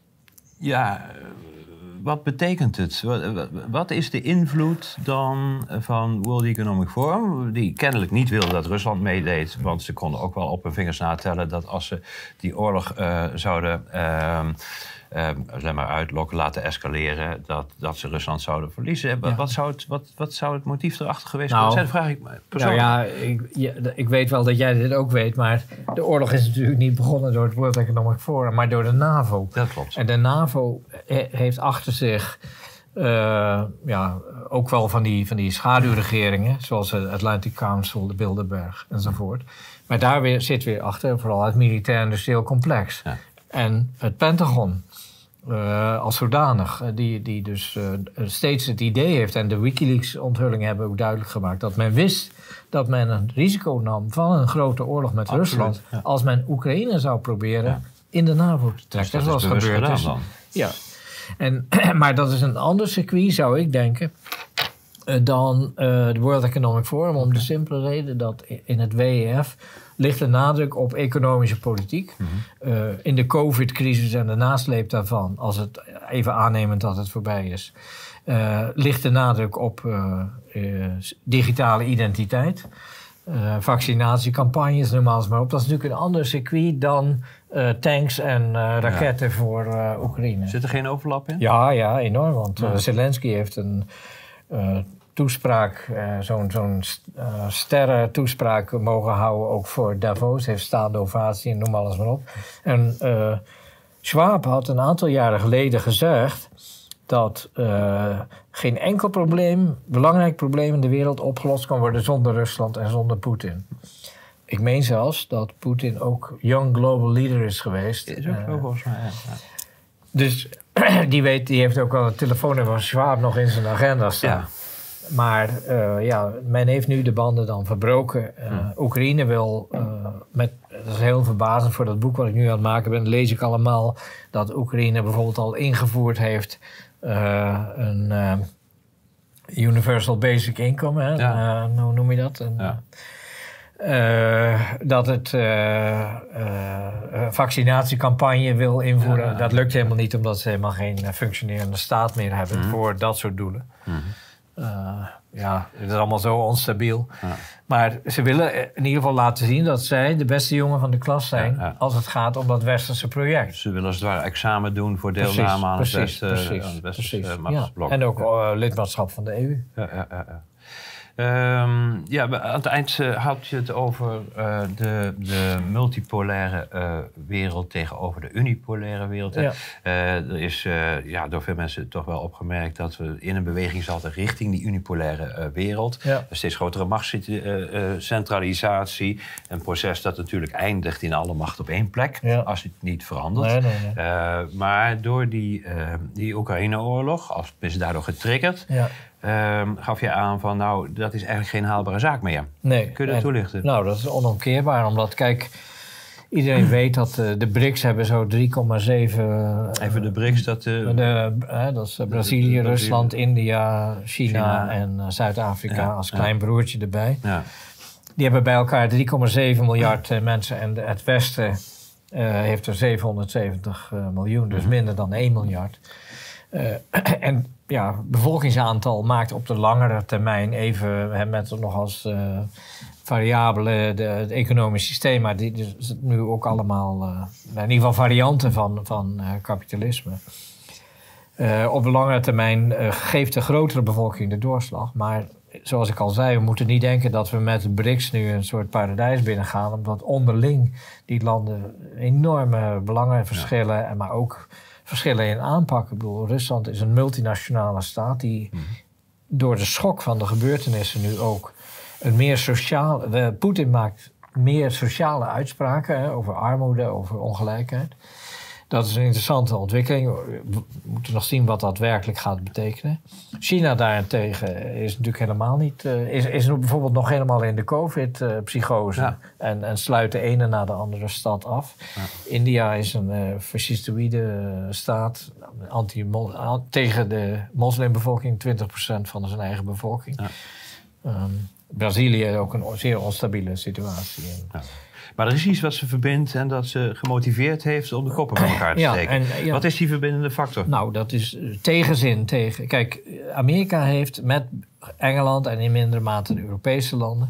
ja, wat betekent het? Wat, wat is de invloed dan van World Economic Forum? Die kennelijk niet wilde dat Rusland meedeed. Want ze konden ook wel op hun vingers natellen dat als ze die oorlog uh, zouden uh, uh, zeg maar uitlokken, laten escaleren, dat, dat ze Rusland zouden verliezen. Ja. Wat, zou het, wat, wat zou het motief erachter geweest nou, zijn? Dat vraag ik me persoonlijk. Nou ja, ik, ja, ik weet wel dat jij dit ook weet, maar de oorlog is natuurlijk niet begonnen door het World Economic Forum, maar door de NAVO. Dat klopt. En de NAVO he, heeft achter zich uh, ja, ook wel van die, van die schaduwregeringen, zoals de Atlantic Council, de Bilderberg enzovoort. Maar daar weer, zit weer achter vooral het militair-industrieel complex. Ja. En het Pentagon. Uh, als zodanig, die, die dus uh, steeds het idee heeft, en de WikiLeaks-onthullingen hebben ook duidelijk gemaakt, dat men wist dat men een risico nam van een grote oorlog met Absoluut, Rusland, ja. als men Oekraïne zou proberen ja. in de NAVO te trekken. Dus dat, dat is gebeurd is. Dan. Ja. En, maar dat is een ander circuit, zou ik denken, uh, dan uh, de World Economic Forum, om de simpele reden dat in het W E F ligt de nadruk op economische politiek. Mm-hmm. Uh, in de COVID-crisis en de nasleep daarvan, als het even aannemend dat het voorbij is, uh, ligt de nadruk op uh, uh, digitale identiteit, uh, vaccinatiecampagnes, noem maar eens maar op. Dat is natuurlijk een ander circuit dan uh, tanks en uh, raketten ja. voor uh, Oekraïne. Zit er geen overlap in? Ja, ja, enorm. Want uh, Zelensky heeft een Uh, toespraak, uh, zo'n zo'n uh, sterren toespraak mogen houden, ook voor Davos, heeft staande ovatie en noem alles maar op. En uh, Schwab had een aantal jaren geleden gezegd dat uh, geen enkel probleem, belangrijk probleem in de wereld opgelost kan worden zonder Rusland en zonder Poetin. Ik meen zelfs dat Poetin ook young global leader is geweest. Is ook uh, zo volgens mij, ja. Dus die, weet, die heeft ook al het telefoonnummer van Schwab nog in zijn agenda staan. Ja. Maar uh, ja, men heeft nu de banden dan verbroken. Uh, hmm. Oekraïne wil, uh, met, dat is heel verbazend voor dat boek wat ik nu aan het maken ben, lees ik allemaal dat Oekraïne bijvoorbeeld al ingevoerd heeft uh, een uh, Universal Basic Income. Hè? Ja. Uh, hoe noem je dat? Een, ja. Uh, dat het uh, uh, een vaccinatiecampagne wil invoeren. Ja, ja. Dat lukt helemaal niet, omdat ze helemaal geen uh, functionerende staat meer hebben mm-hmm. voor dat soort doelen. Mm-hmm. Uh, ja, het is allemaal zo onstabiel. Ja. Maar ze willen in ieder geval laten zien dat zij de beste jongen van de klas zijn ja, ja. als het gaat om dat westerse project. Ze willen als het ware examen doen voor deelname precies, aan het precies, West, precies, uh, precies. uh, machtsblok. Ja. En ook uh, lidmaatschap van de E U. Ja, ja, ja, ja. Um, ja, aan het eind uh, had je het over uh, de, de multipolaire uh, wereld tegenover de unipolaire wereld. Ja. Uh, er is uh, ja, door veel mensen toch wel opgemerkt dat we in een beweging zaten richting die unipolaire uh, wereld. Ja. Een steeds grotere machtscentralisatie. Uh, uh, een proces dat natuurlijk eindigt in alle macht op één plek, ja. als het niet verandert. Nee, nee, nee. Uh, maar door die, uh, die Oekraïne-oorlog, als is daardoor getriggerd, ja. Um, gaf je aan van, nou, dat is eigenlijk geen haalbare zaak meer. Nee. Kun je dat toelichten? Nou, dat is onomkeerbaar, omdat, kijk, iedereen weet dat uh, de B R I C S hebben zo drie komma zeven... Uh, Even de B R I C S, dat... Uh, de, uh, dat is uh, Brazilië, de, de, Rusland, de, India, China, China. en uh, Zuid-Afrika ja, als klein ja. broertje erbij. Ja. Die hebben bij elkaar drie komma zeven miljard uh, mensen en de, het Westen uh, heeft er zevenhonderdzeventig uh, miljoen, dus minder dan één miljard. Uh, en ja, bevolkingsaantal maakt op de langere termijn even hè, met nog als uh, variabele de, het economisch systeem, maar die is nu ook allemaal uh, in ieder geval varianten van, van uh, kapitalisme. Uh, op de langere termijn uh, geeft de grotere bevolking de doorslag, maar zoals ik al zei, we moeten niet denken dat we met de BRICS nu een soort paradijs binnengaan, omdat onderling die landen enorme belangen verschillen, ja. en maar ook verschillen in aanpak. Ik bedoel, Rusland is een multinationale staat die mm. door de schok van de gebeurtenissen nu ook een meer sociaal... Poetin maakt meer sociale uitspraken, hè, over armoede, over ongelijkheid. Dat is een interessante ontwikkeling. We moeten nog zien wat dat werkelijk gaat betekenen. China daarentegen is natuurlijk helemaal niet... Uh, is, is bijvoorbeeld nog helemaal in de COVID-psychose. Ja. En, en sluit de ene na de andere stad af. Ja. India is een uh, fascistoïde staat. Anti tegen de moslimbevolking, twintig procent van zijn eigen bevolking. Ja. Um, Brazilië ook een zeer onstabiele situatie. Ja. Maar er is iets wat ze verbindt en dat ze gemotiveerd heeft om de koppen bij elkaar te ja, steken. En, ja. Wat is die verbindende factor? Nou, dat is tegenzin tegen... Kijk, Amerika heeft met Engeland en in mindere mate de Europese landen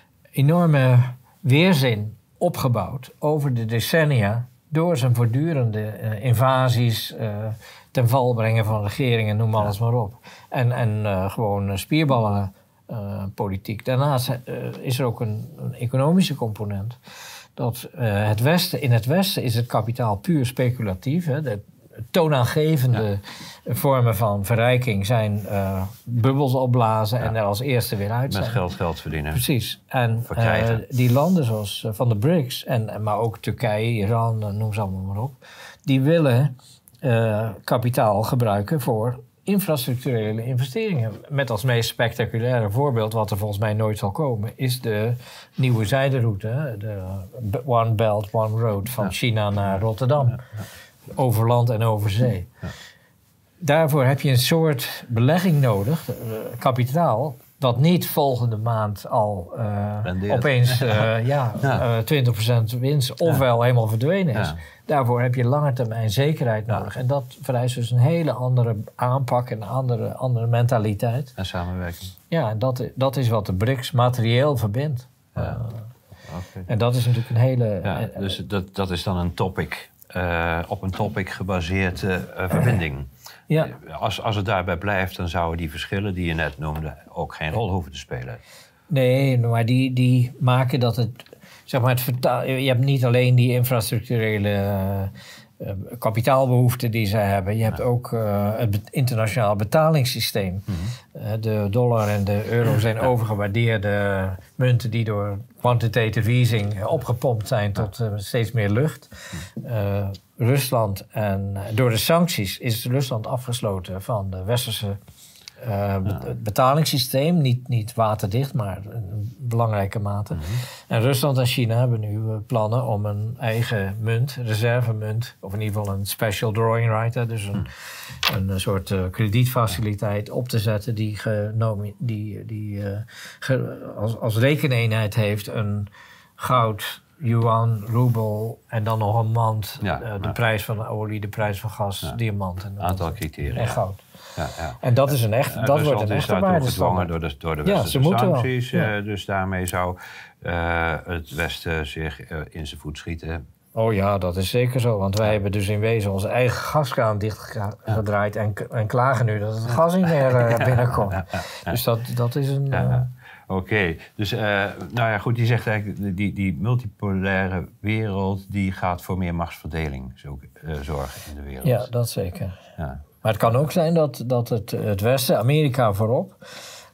enorme weerzin opgebouwd over de decennia door zijn voortdurende uh, invasies, uh, ten val brengen van regeringen, noem alles ja. maar op. En, en uh, gewoon spierballen uh, politiek. Daarnaast uh, is er ook een, een economische component. Dat uh, het Westen, in het Westen is het kapitaal puur speculatief. Hè. De toonaangevende ja. vormen van verrijking zijn uh, bubbels opblazen ja. en er als eerste weer uit zijn. Met geld geld verdienen. Precies. En uh, die landen zoals uh, van de BRICS, en, maar ook Turkije, Iran, uh, noem ze allemaal maar op, die willen uh, kapitaal gebruiken voor infrastructurele investeringen. Met als meest spectaculaire voorbeeld, wat er volgens mij nooit zal komen, is de nieuwe zijderoute, de One Belt, One Road van ja. China naar Rotterdam. Ja, ja. Over land en over zee. Ja. Daarvoor heb je een soort belegging nodig, uh, kapitaal, dat niet volgende maand al uh, opeens uh, ja, ja. Uh, twintig procent winst ofwel ja. helemaal verdwenen is. Ja. Daarvoor heb je lange termijn zekerheid nodig. Ja. En dat vereist dus een hele andere aanpak en een andere, andere mentaliteit. En samenwerking. Ja, en dat, dat is wat de BRICS materieel verbindt. Ja. Uh, okay. En dat is natuurlijk een hele... Ja, uh, dus dat, dat is dan een topic, uh, op een topic gebaseerde uh, verbinding. Ja. Als, als het daarbij blijft, dan zouden die verschillen die je net noemde ook geen rol hoeven te spelen. Nee, maar die, die maken dat het... Zeg maar, het vertaal, je hebt niet alleen die infrastructurele uh, uh, kapitaalbehoeften die ze hebben. Je hebt ja. ook uh, het internationaal betalingssysteem. Mm-hmm. Uh, de dollar en de euro zijn ja. overgewaardeerde munten die door quantitative easing opgepompt zijn tot uh, steeds meer lucht. Uh, Rusland en door de sancties is Rusland afgesloten van de westerse uh, ja. betalingssysteem. Niet, niet waterdicht, maar in belangrijke mate. Mm-hmm. En Rusland en China hebben nu uh, plannen om een eigen munt, reservemunt, of in ieder geval een special drawing right, hè, dus een, mm. een soort uh, kredietfaciliteit op te zetten die, genomi- die, die uh, ge, als, als rekeneenheid heeft een goud, yuan, roebel en dan nog een mand, ja, uh, de ja. prijs van de olie, de prijs van gas, ja. diamant en aantal criteria en goud. Ja, ja. En dat is een echt, ja, dat dus wordt een echte waardestandaard. Is daartoe gedwongen door de, door de westerse ja, sancties. Ja. Uh, dus daarmee zou uh, het Westen zich uh, in zijn voet schieten. Oh ja, dat is zeker zo. Want wij hebben dus in wezen onze eigen gaskraan dichtgedraaid en, en klagen nu dat het gas niet meer uh, binnenkomt. Ja, ja, ja. Dus dat, dat is een... Ja. Uh, Oké, okay. dus uh, nou ja, goed, die zegt eigenlijk, die, die multipolaire wereld, die gaat voor meer machtsverdeling zo, uh, zorgen in de wereld. Ja, dat zeker. Ja. Maar het kan ook zijn dat, dat het, het Westen, Amerika voorop,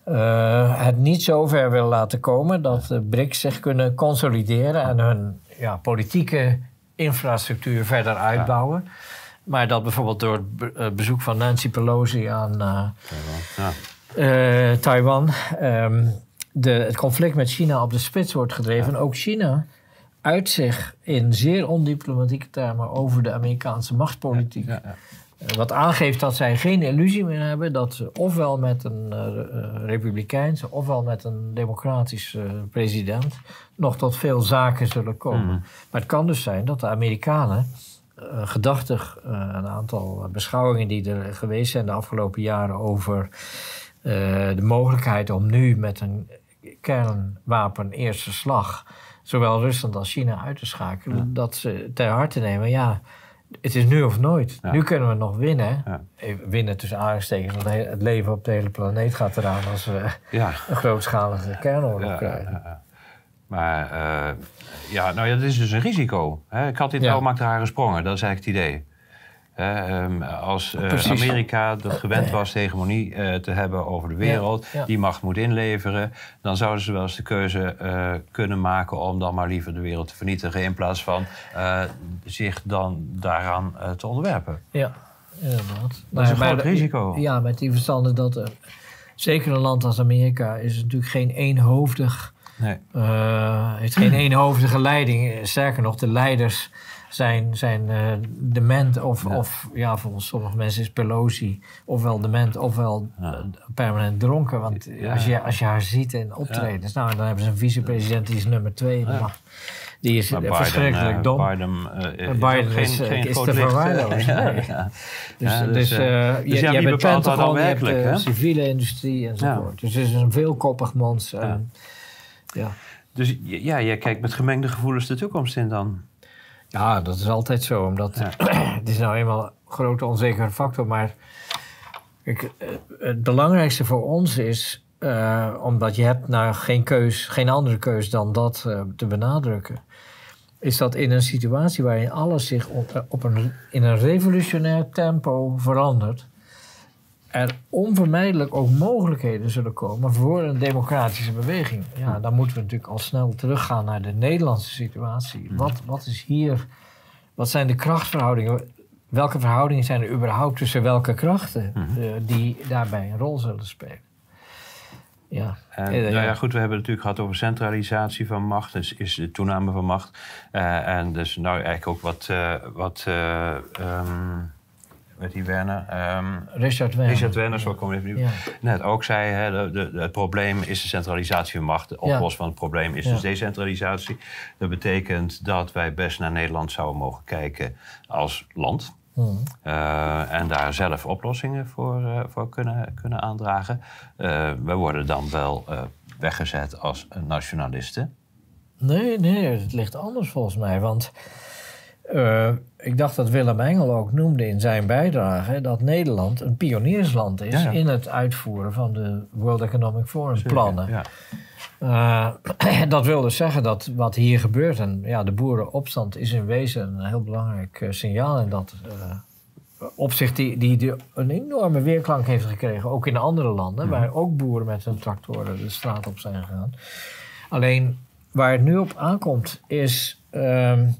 uh, het niet zo ver wil laten komen dat de BRICS zich kunnen consolideren en hun ja, politieke infrastructuur verder uitbouwen. Ja. Maar dat bijvoorbeeld door het bezoek van Nancy Pelosi aan uh, Taiwan, ja. uh, Taiwan um, de, het conflict met China op de spits wordt gedreven. Ja. En ook China uit zich in zeer ondiplomatieke termen over de Amerikaanse machtspolitiek. Ja, ja, ja. Wat aangeeft dat zij geen illusie meer hebben dat ze ofwel met een uh, republikeinse ofwel met een democratische uh, president nog tot veel zaken zullen komen. Mm. Maar het kan dus zijn dat de Amerikanen, uh, gedachtig uh, een aantal beschouwingen die er geweest zijn de afgelopen jaren over uh, de mogelijkheid om nu met een kernwapen eerste slag zowel Rusland als China uit te schakelen, ja. dat ze ter harte nemen, ja, Het is nu of nooit. Ja. Nu kunnen we nog winnen. Ja. Even winnen tussen aanstekens, want he- het leven op de hele planeet gaat eraan als we Ja. een grootschalige kernoorlog Ja, krijgen. ja, ja. Maar uh, ja, nou ja, dat is dus een risico. Hè? Ik had dit Ja. wel maakt rare sprongen, dat is eigenlijk het idee. Hè, um, als uh, Amerika dat gewend was de hegemonie uh, te hebben over de wereld, Ja, ja. die macht moet inleveren, dan zouden ze wel eens de keuze uh, kunnen maken om dan maar liever de wereld te vernietigen in plaats van uh, zich dan daaraan uh, te onderwerpen. Ja, inderdaad. Dat is een maar groot de- risico. Ja, met die verstande dat uh, zeker een land als Amerika is natuurlijk geen eenhoofdig, Nee. uh, heeft geen eenhoofdige leiding. Sterker nog, de leiders zijn, zijn uh, dement of, Ja. of ja, volgens sommige mensen is Pelosi ofwel dement ofwel Ja. uh, permanent dronken. Want Ja. als, je, als je haar ziet in optredens, nou, dan hebben ze een vicepresident die is nummer twee. Ja. mag- Die is Maar uh, verschrikkelijk uh, dom. Biden, uh, Biden geen, is, uh, geen is groot te licht, verwaarlozen, ja, nee. ja. Dus, Ja, dus, dus, uh, uh, je, dus ja, je wie hebt bepaalt dat dan Pentagon, je hebt werkelijk, de hè? civiele industrie enzovoort. Dus het is een veelkoppig mons. Ja. En, ja. Dus ja, jij kijkt met gemengde gevoelens de toekomst in dan. ja, dat is altijd zo. Omdat Ja. het is nou eenmaal een grote onzekere factor. Maar kijk, eh, het belangrijkste voor ons is, uh, omdat je hebt nou geen keus, geen andere keus dan dat uh, te benadrukken, is dat in een situatie waarin alles zich op, op een, in een revolutionair tempo verandert, er onvermijdelijk ook mogelijkheden zullen komen voor een democratische beweging. Ja, dan moeten we natuurlijk al snel teruggaan naar de Nederlandse situatie. Wat, wat is hier, wat zijn de krachtverhoudingen? Welke verhoudingen zijn er überhaupt tussen welke krachten uh, die daarbij een rol zullen spelen? Ja. En, Eh, nou ja. ja, goed, we hebben het natuurlijk gehad over centralisatie van macht, dus is de toename van macht. Uh, en dus nou eigenlijk ook wat, uh, wat uh, um, weet die Werner? Um, Richard Werner. Richard Werner, zo kom ik even Ja. net ook zei, hè, de, de, het probleem is de centralisatie van macht. De oplossing van het probleem is Ja. dus decentralisatie. Dat betekent dat wij best naar Nederland zouden mogen kijken als land. Hmm. Uh, en daar zelf oplossingen voor, uh, voor kunnen, kunnen aandragen. Uh, we worden dan wel uh, weggezet als nationalisten. Nee, nee, het ligt anders volgens mij. Want uh, ik dacht dat Willem Engel ook noemde in zijn bijdrage dat Nederland een pioniersland is Ja, ja. in het uitvoeren van de World Economic Forum Zeker, plannen. ja. Uh, dat wil dus zeggen dat wat hier gebeurt, en ja, de boerenopstand is in wezen een heel belangrijk uh, signaal in dat uh, opzicht, die, die, die een enorme weerklank heeft gekregen, ook in andere landen, Mhm. waar ook boeren met hun tractoren de straat op zijn gegaan. Alleen waar het nu op aankomt is um,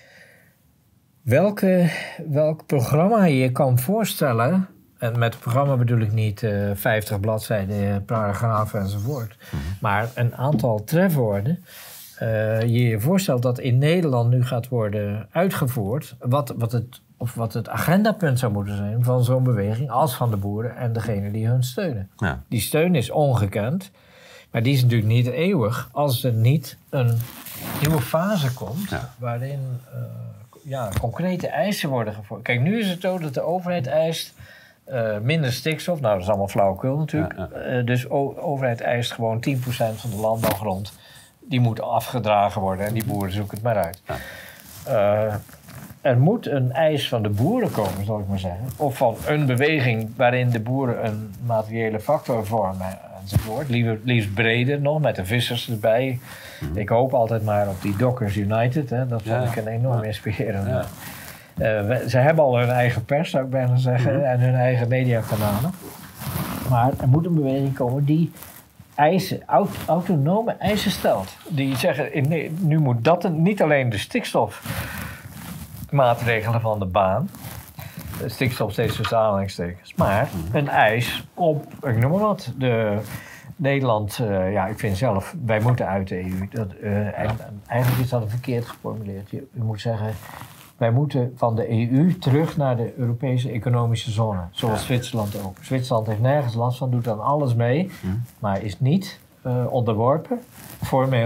welke, welk programma je kan voorstellen. En met het programma bedoel ik niet uh, vijftig bladzijden, paragrafen enzovoort. Mhm. Maar een aantal trefwoorden. Uh, je je voorstelt dat in Nederland nu gaat worden uitgevoerd. Wat, wat, het, of wat het agendapunt zou moeten zijn van zo'n beweging als van de boeren en degenen die hun steunen. Ja. Die steun is ongekend. Maar die is natuurlijk niet eeuwig als er niet een nieuwe fase komt Ja. waarin uh, ja, concrete eisen worden gevormd. Kijk, nu is het zo dat de overheid eist uh, minder stikstof. Nou, dat is allemaal flauwekul natuurlijk. Ja, Uh, dus de overheid eist gewoon tien procent van de landbouwgrond. Die moet afgedragen worden en die boeren zoeken het maar uit. Ja. Uh, er moet een eis van de boeren komen, zal ik maar zeggen. Of van een beweging waarin de boeren een materiële factor vormen enzovoort. Liefst, liefst breder nog, met de vissers erbij. Mm-hmm. Ik hoop altijd maar op die Dockers United. Hè. Dat vond Ja. ik een enorm inspirerend. Ja. Uh, we, ze hebben al hun eigen pers, zou ik bijna zeggen. Mm-hmm. En hun eigen mediakanalen. Maar er moet een beweging komen die eisen, aut, autonome eisen stelt. Die zeggen, in, nu moet dat een, niet alleen de stikstofmaatregelen van de baan, de stikstof steeds tussen aanhalingstekens, maar een eis op, ik noem maar wat, de Nederland, uh, ja, ik vind zelf, wij moeten uit de E U. Dat, uh, en, en eigenlijk is dat verkeerd geformuleerd. Je, je moet zeggen, wij moeten van de E U terug naar de Europese economische zone. Zoals ja. Zwitserland ook. Zwitserland heeft nergens last van, doet dan alles mee. Hm. Maar is niet uh, onderworpen, formeel,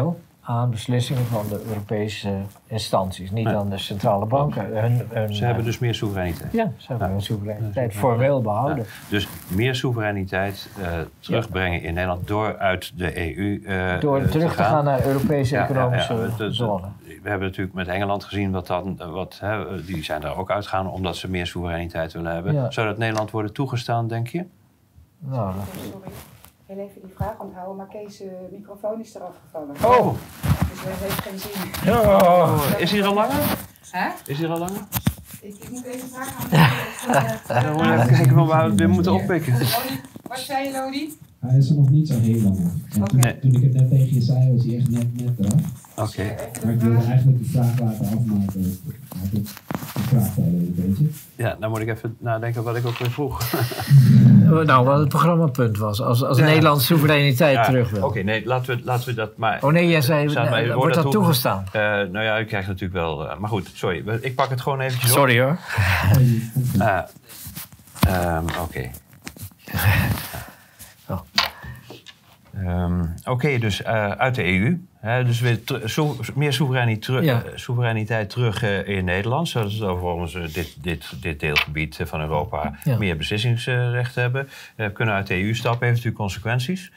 aan beslissingen van de Europese instanties, niet Nee. aan de centrale banken. Hun, hun, Ze hebben dus meer soevereiniteit. Ja, ze hebben Ja. hun soevereiniteit Ja. formeel behouden. Ja. Dus meer soevereiniteit uh, terugbrengen in Nederland door uit de E U uh, Door terug te gaan, gaan naar Europese ja, economische ja, ja. De, de, zone. We hebben natuurlijk met Engeland gezien, wat dan, wat, hè, die zijn daar ook uitgegaan omdat ze meer soevereiniteit willen hebben. Ja. Zou dat Nederland worden toegestaan, denk je? Nou, dat... Sorry, heel even die vraag onthouden, maar Kees' uh, microfoon is eraf gevallen. Oh! Dus dat heeft geen zin. Oh. Is hij er al langer? Hè? Is hij er al langer? Ik, ik moet even vragen aan Dan moet je even kijken of we het weer moeten oppikken. Wat zei je, Lodi? Hij is er nog niet zo heel lang. En toen, Okay. toen ik het net tegen je zei, was hij echt net, net eraf. Oké. Okay. Maar ik wilde eigenlijk de vraag laten afmaken. Ik de vraag stellen een beetje. Ja, dan moet ik even nadenken wat ik ook weer vroeg. Nou, wat het programmapunt was. Als, als ja. Nederland soevereiniteit ja. terug wil. Oké, okay, nee, laten we, laten we dat maar... Oh nee, jij zei, nee, wordt dat toegestaan? Uh, nou ja, ik krijg natuurlijk wel... Uh, maar goed, sorry. Ik pak het gewoon eventjes op. Sorry hoor. Uh, um, Oké. Okay. Oh. Um, Oké, okay, dus uh, uit de E U. Hè, dus weer so, meer soevereiniteit, teru ja. uh, soevereiniteit terug uh, in Nederland. Zodat we volgens uh, dit, dit, dit deelgebied van Europa ja. meer beslissingsrecht hebben. Uh, we kunnen uit de E U stappen, heeft natuurlijk consequenties.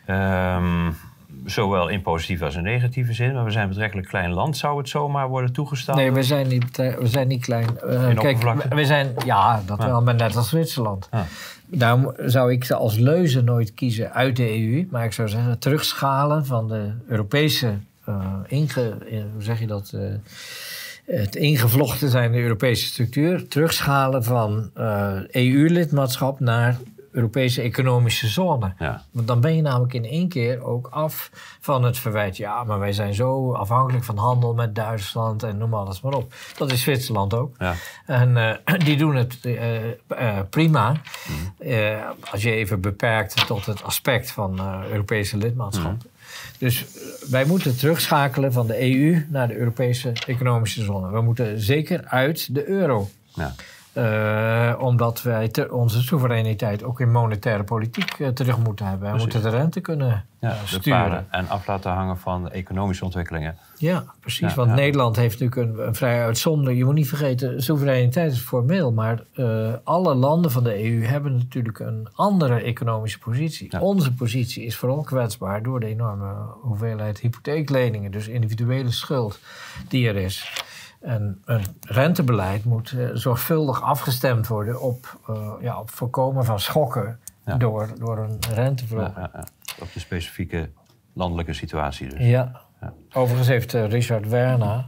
Um, Zowel in positieve als in negatieve zin. Maar we zijn een betrekkelijk klein land. Zou het zomaar worden toegestaan? Nee, we zijn niet, we zijn niet klein. Uh, kijk, we zijn, ja, dat ja. wel, maar net als Zwitserland. Ja. Daarom zou ik als leuze nooit kiezen uit de E U. Maar ik zou zeggen, terugschalen van de Europese... Uh, inge, uh, hoe zeg je dat? Uh, het ingevlochten zijn in de Europese structuur. Terugschalen van uh, E U-lidmaatschap naar... Europese economische zone. Ja. Want dan ben je namelijk in één keer ook af van het verwijt... ja, maar wij zijn zo afhankelijk van handel met Duitsland en noem alles maar op. Dat is Zwitserland ook. Ja. En uh, die doen het uh, uh, prima. Mm. Uh, als je even beperkt tot het aspect van uh, Europese lidmaatschap. Mm. Dus uh, wij moeten terugschakelen van de E U naar de Europese economische zone. We moeten zeker uit de euro. Ja. Uh, omdat wij te, onze soevereiniteit ook in monetaire politiek uh, terug moeten hebben. We moeten de rente kunnen ja, uh, sturen. En af laten hangen van economische ontwikkelingen. Ja, precies. Ja, want ja. Nederland heeft natuurlijk een, een vrij uitzonderlijk... Je moet niet vergeten, soevereiniteit is formeel. Maar uh, alle landen van de E U hebben natuurlijk een andere economische positie. Ja. Onze positie is vooral kwetsbaar door de enorme hoeveelheid hypotheekleningen. Dus individuele schuld die er is. En een rentebeleid moet uh, zorgvuldig afgestemd worden op, uh, ja, op voorkomen van schokken ja. door, door een renteverhoging. Ja, ja, ja. Op de specifieke landelijke situatie dus. Ja. ja. Overigens heeft uh, Richard Werner...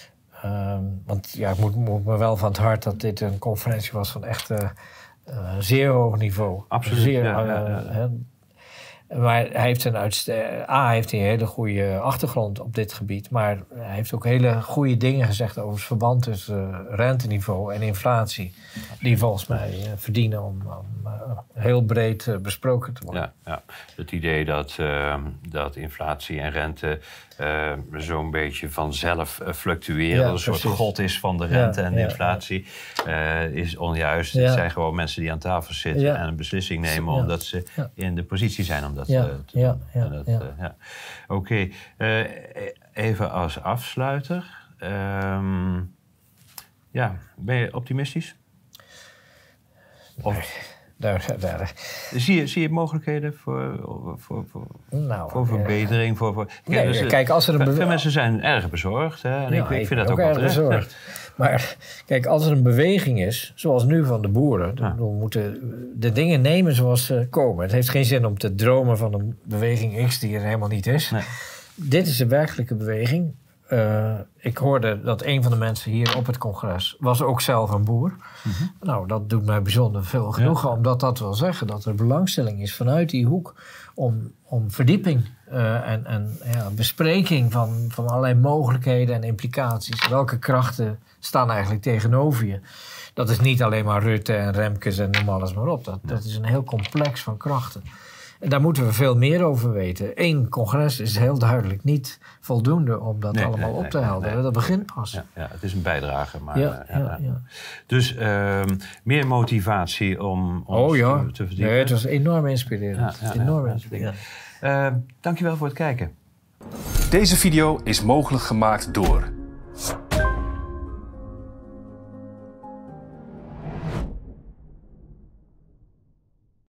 Um, want ja, ik moet, moet me wel van het hart dat dit een conferentie was van echt uh, uh, zeer hoog niveau. Absoluut, zeer, ja, ja, ja. Uh, uh, Maar hij heeft een, uitste- A, heeft hij een hele goede achtergrond op dit gebied. Maar hij heeft ook hele goede dingen gezegd over het verband tussen uh, renteniveau en inflatie. Die volgens mij uh, verdienen om, om uh, heel breed uh, besproken te worden. Ja, ja. Het idee dat, uh, dat inflatie en rente uh, zo'n beetje vanzelf uh, fluctueren. Ja, een soort precies. god is van de rente Ja, en de ja, inflatie. Uh, is onjuist. Ja. Het zijn gewoon mensen die aan tafel zitten Ja. en een beslissing nemen Ja. omdat ze Ja. in de positie zijn om dat Ja, uh, te ja, doen. ja, En dat, ja. uh, ja. Oké, okay. uh, even als afsluiter. Um, ja, ben je optimistisch? Of, Daar, daar. zie, je, zie je mogelijkheden voor, voor, voor, Nou, voor verbetering? Voor, voor, nee, dus, kijk, als er een veel bewe- mensen zijn erg bezorgd. Hè, en Ja, ik, ik vind dat ben ook wel erg terecht. bezorgd. Maar kijk, als er een beweging is, zoals nu van de boeren... dan Ja. we moeten de dingen nemen zoals ze komen. Het heeft geen zin om te dromen van een beweging X die er helemaal niet is. Nee. Dit is een werkelijke beweging. Uh, ik hoorde dat een van de mensen hier op het congres was ook zelf een boer. Mm-hmm. Nou, dat doet mij bijzonder veel genoegen, ja. omdat dat wil zeggen dat er belangstelling is vanuit die hoek om, om verdieping uh, en, en ja, bespreking van, van allerlei mogelijkheden en implicaties. Welke krachten staan eigenlijk tegenover je? Dat is niet alleen maar Rutte en Remkes en noem alles maar op. Dat, dat is een heel complex van krachten. En daar moeten we veel meer over weten. Eén congres is heel duidelijk niet voldoende om dat Nee, allemaal nee, op te nee, helderen. nee. Dat begint pas. Ja, ja, het is een bijdrage. Maar, Ja, uh, ja, ja, ja. Dus uh, meer motivatie om ons Oh ja, te, te verdiepen. nee, het was enorm inspirerend. Ja, ja, enorm ja, inspirerend. Uh, dankjewel voor het kijken. Deze video is mogelijk gemaakt door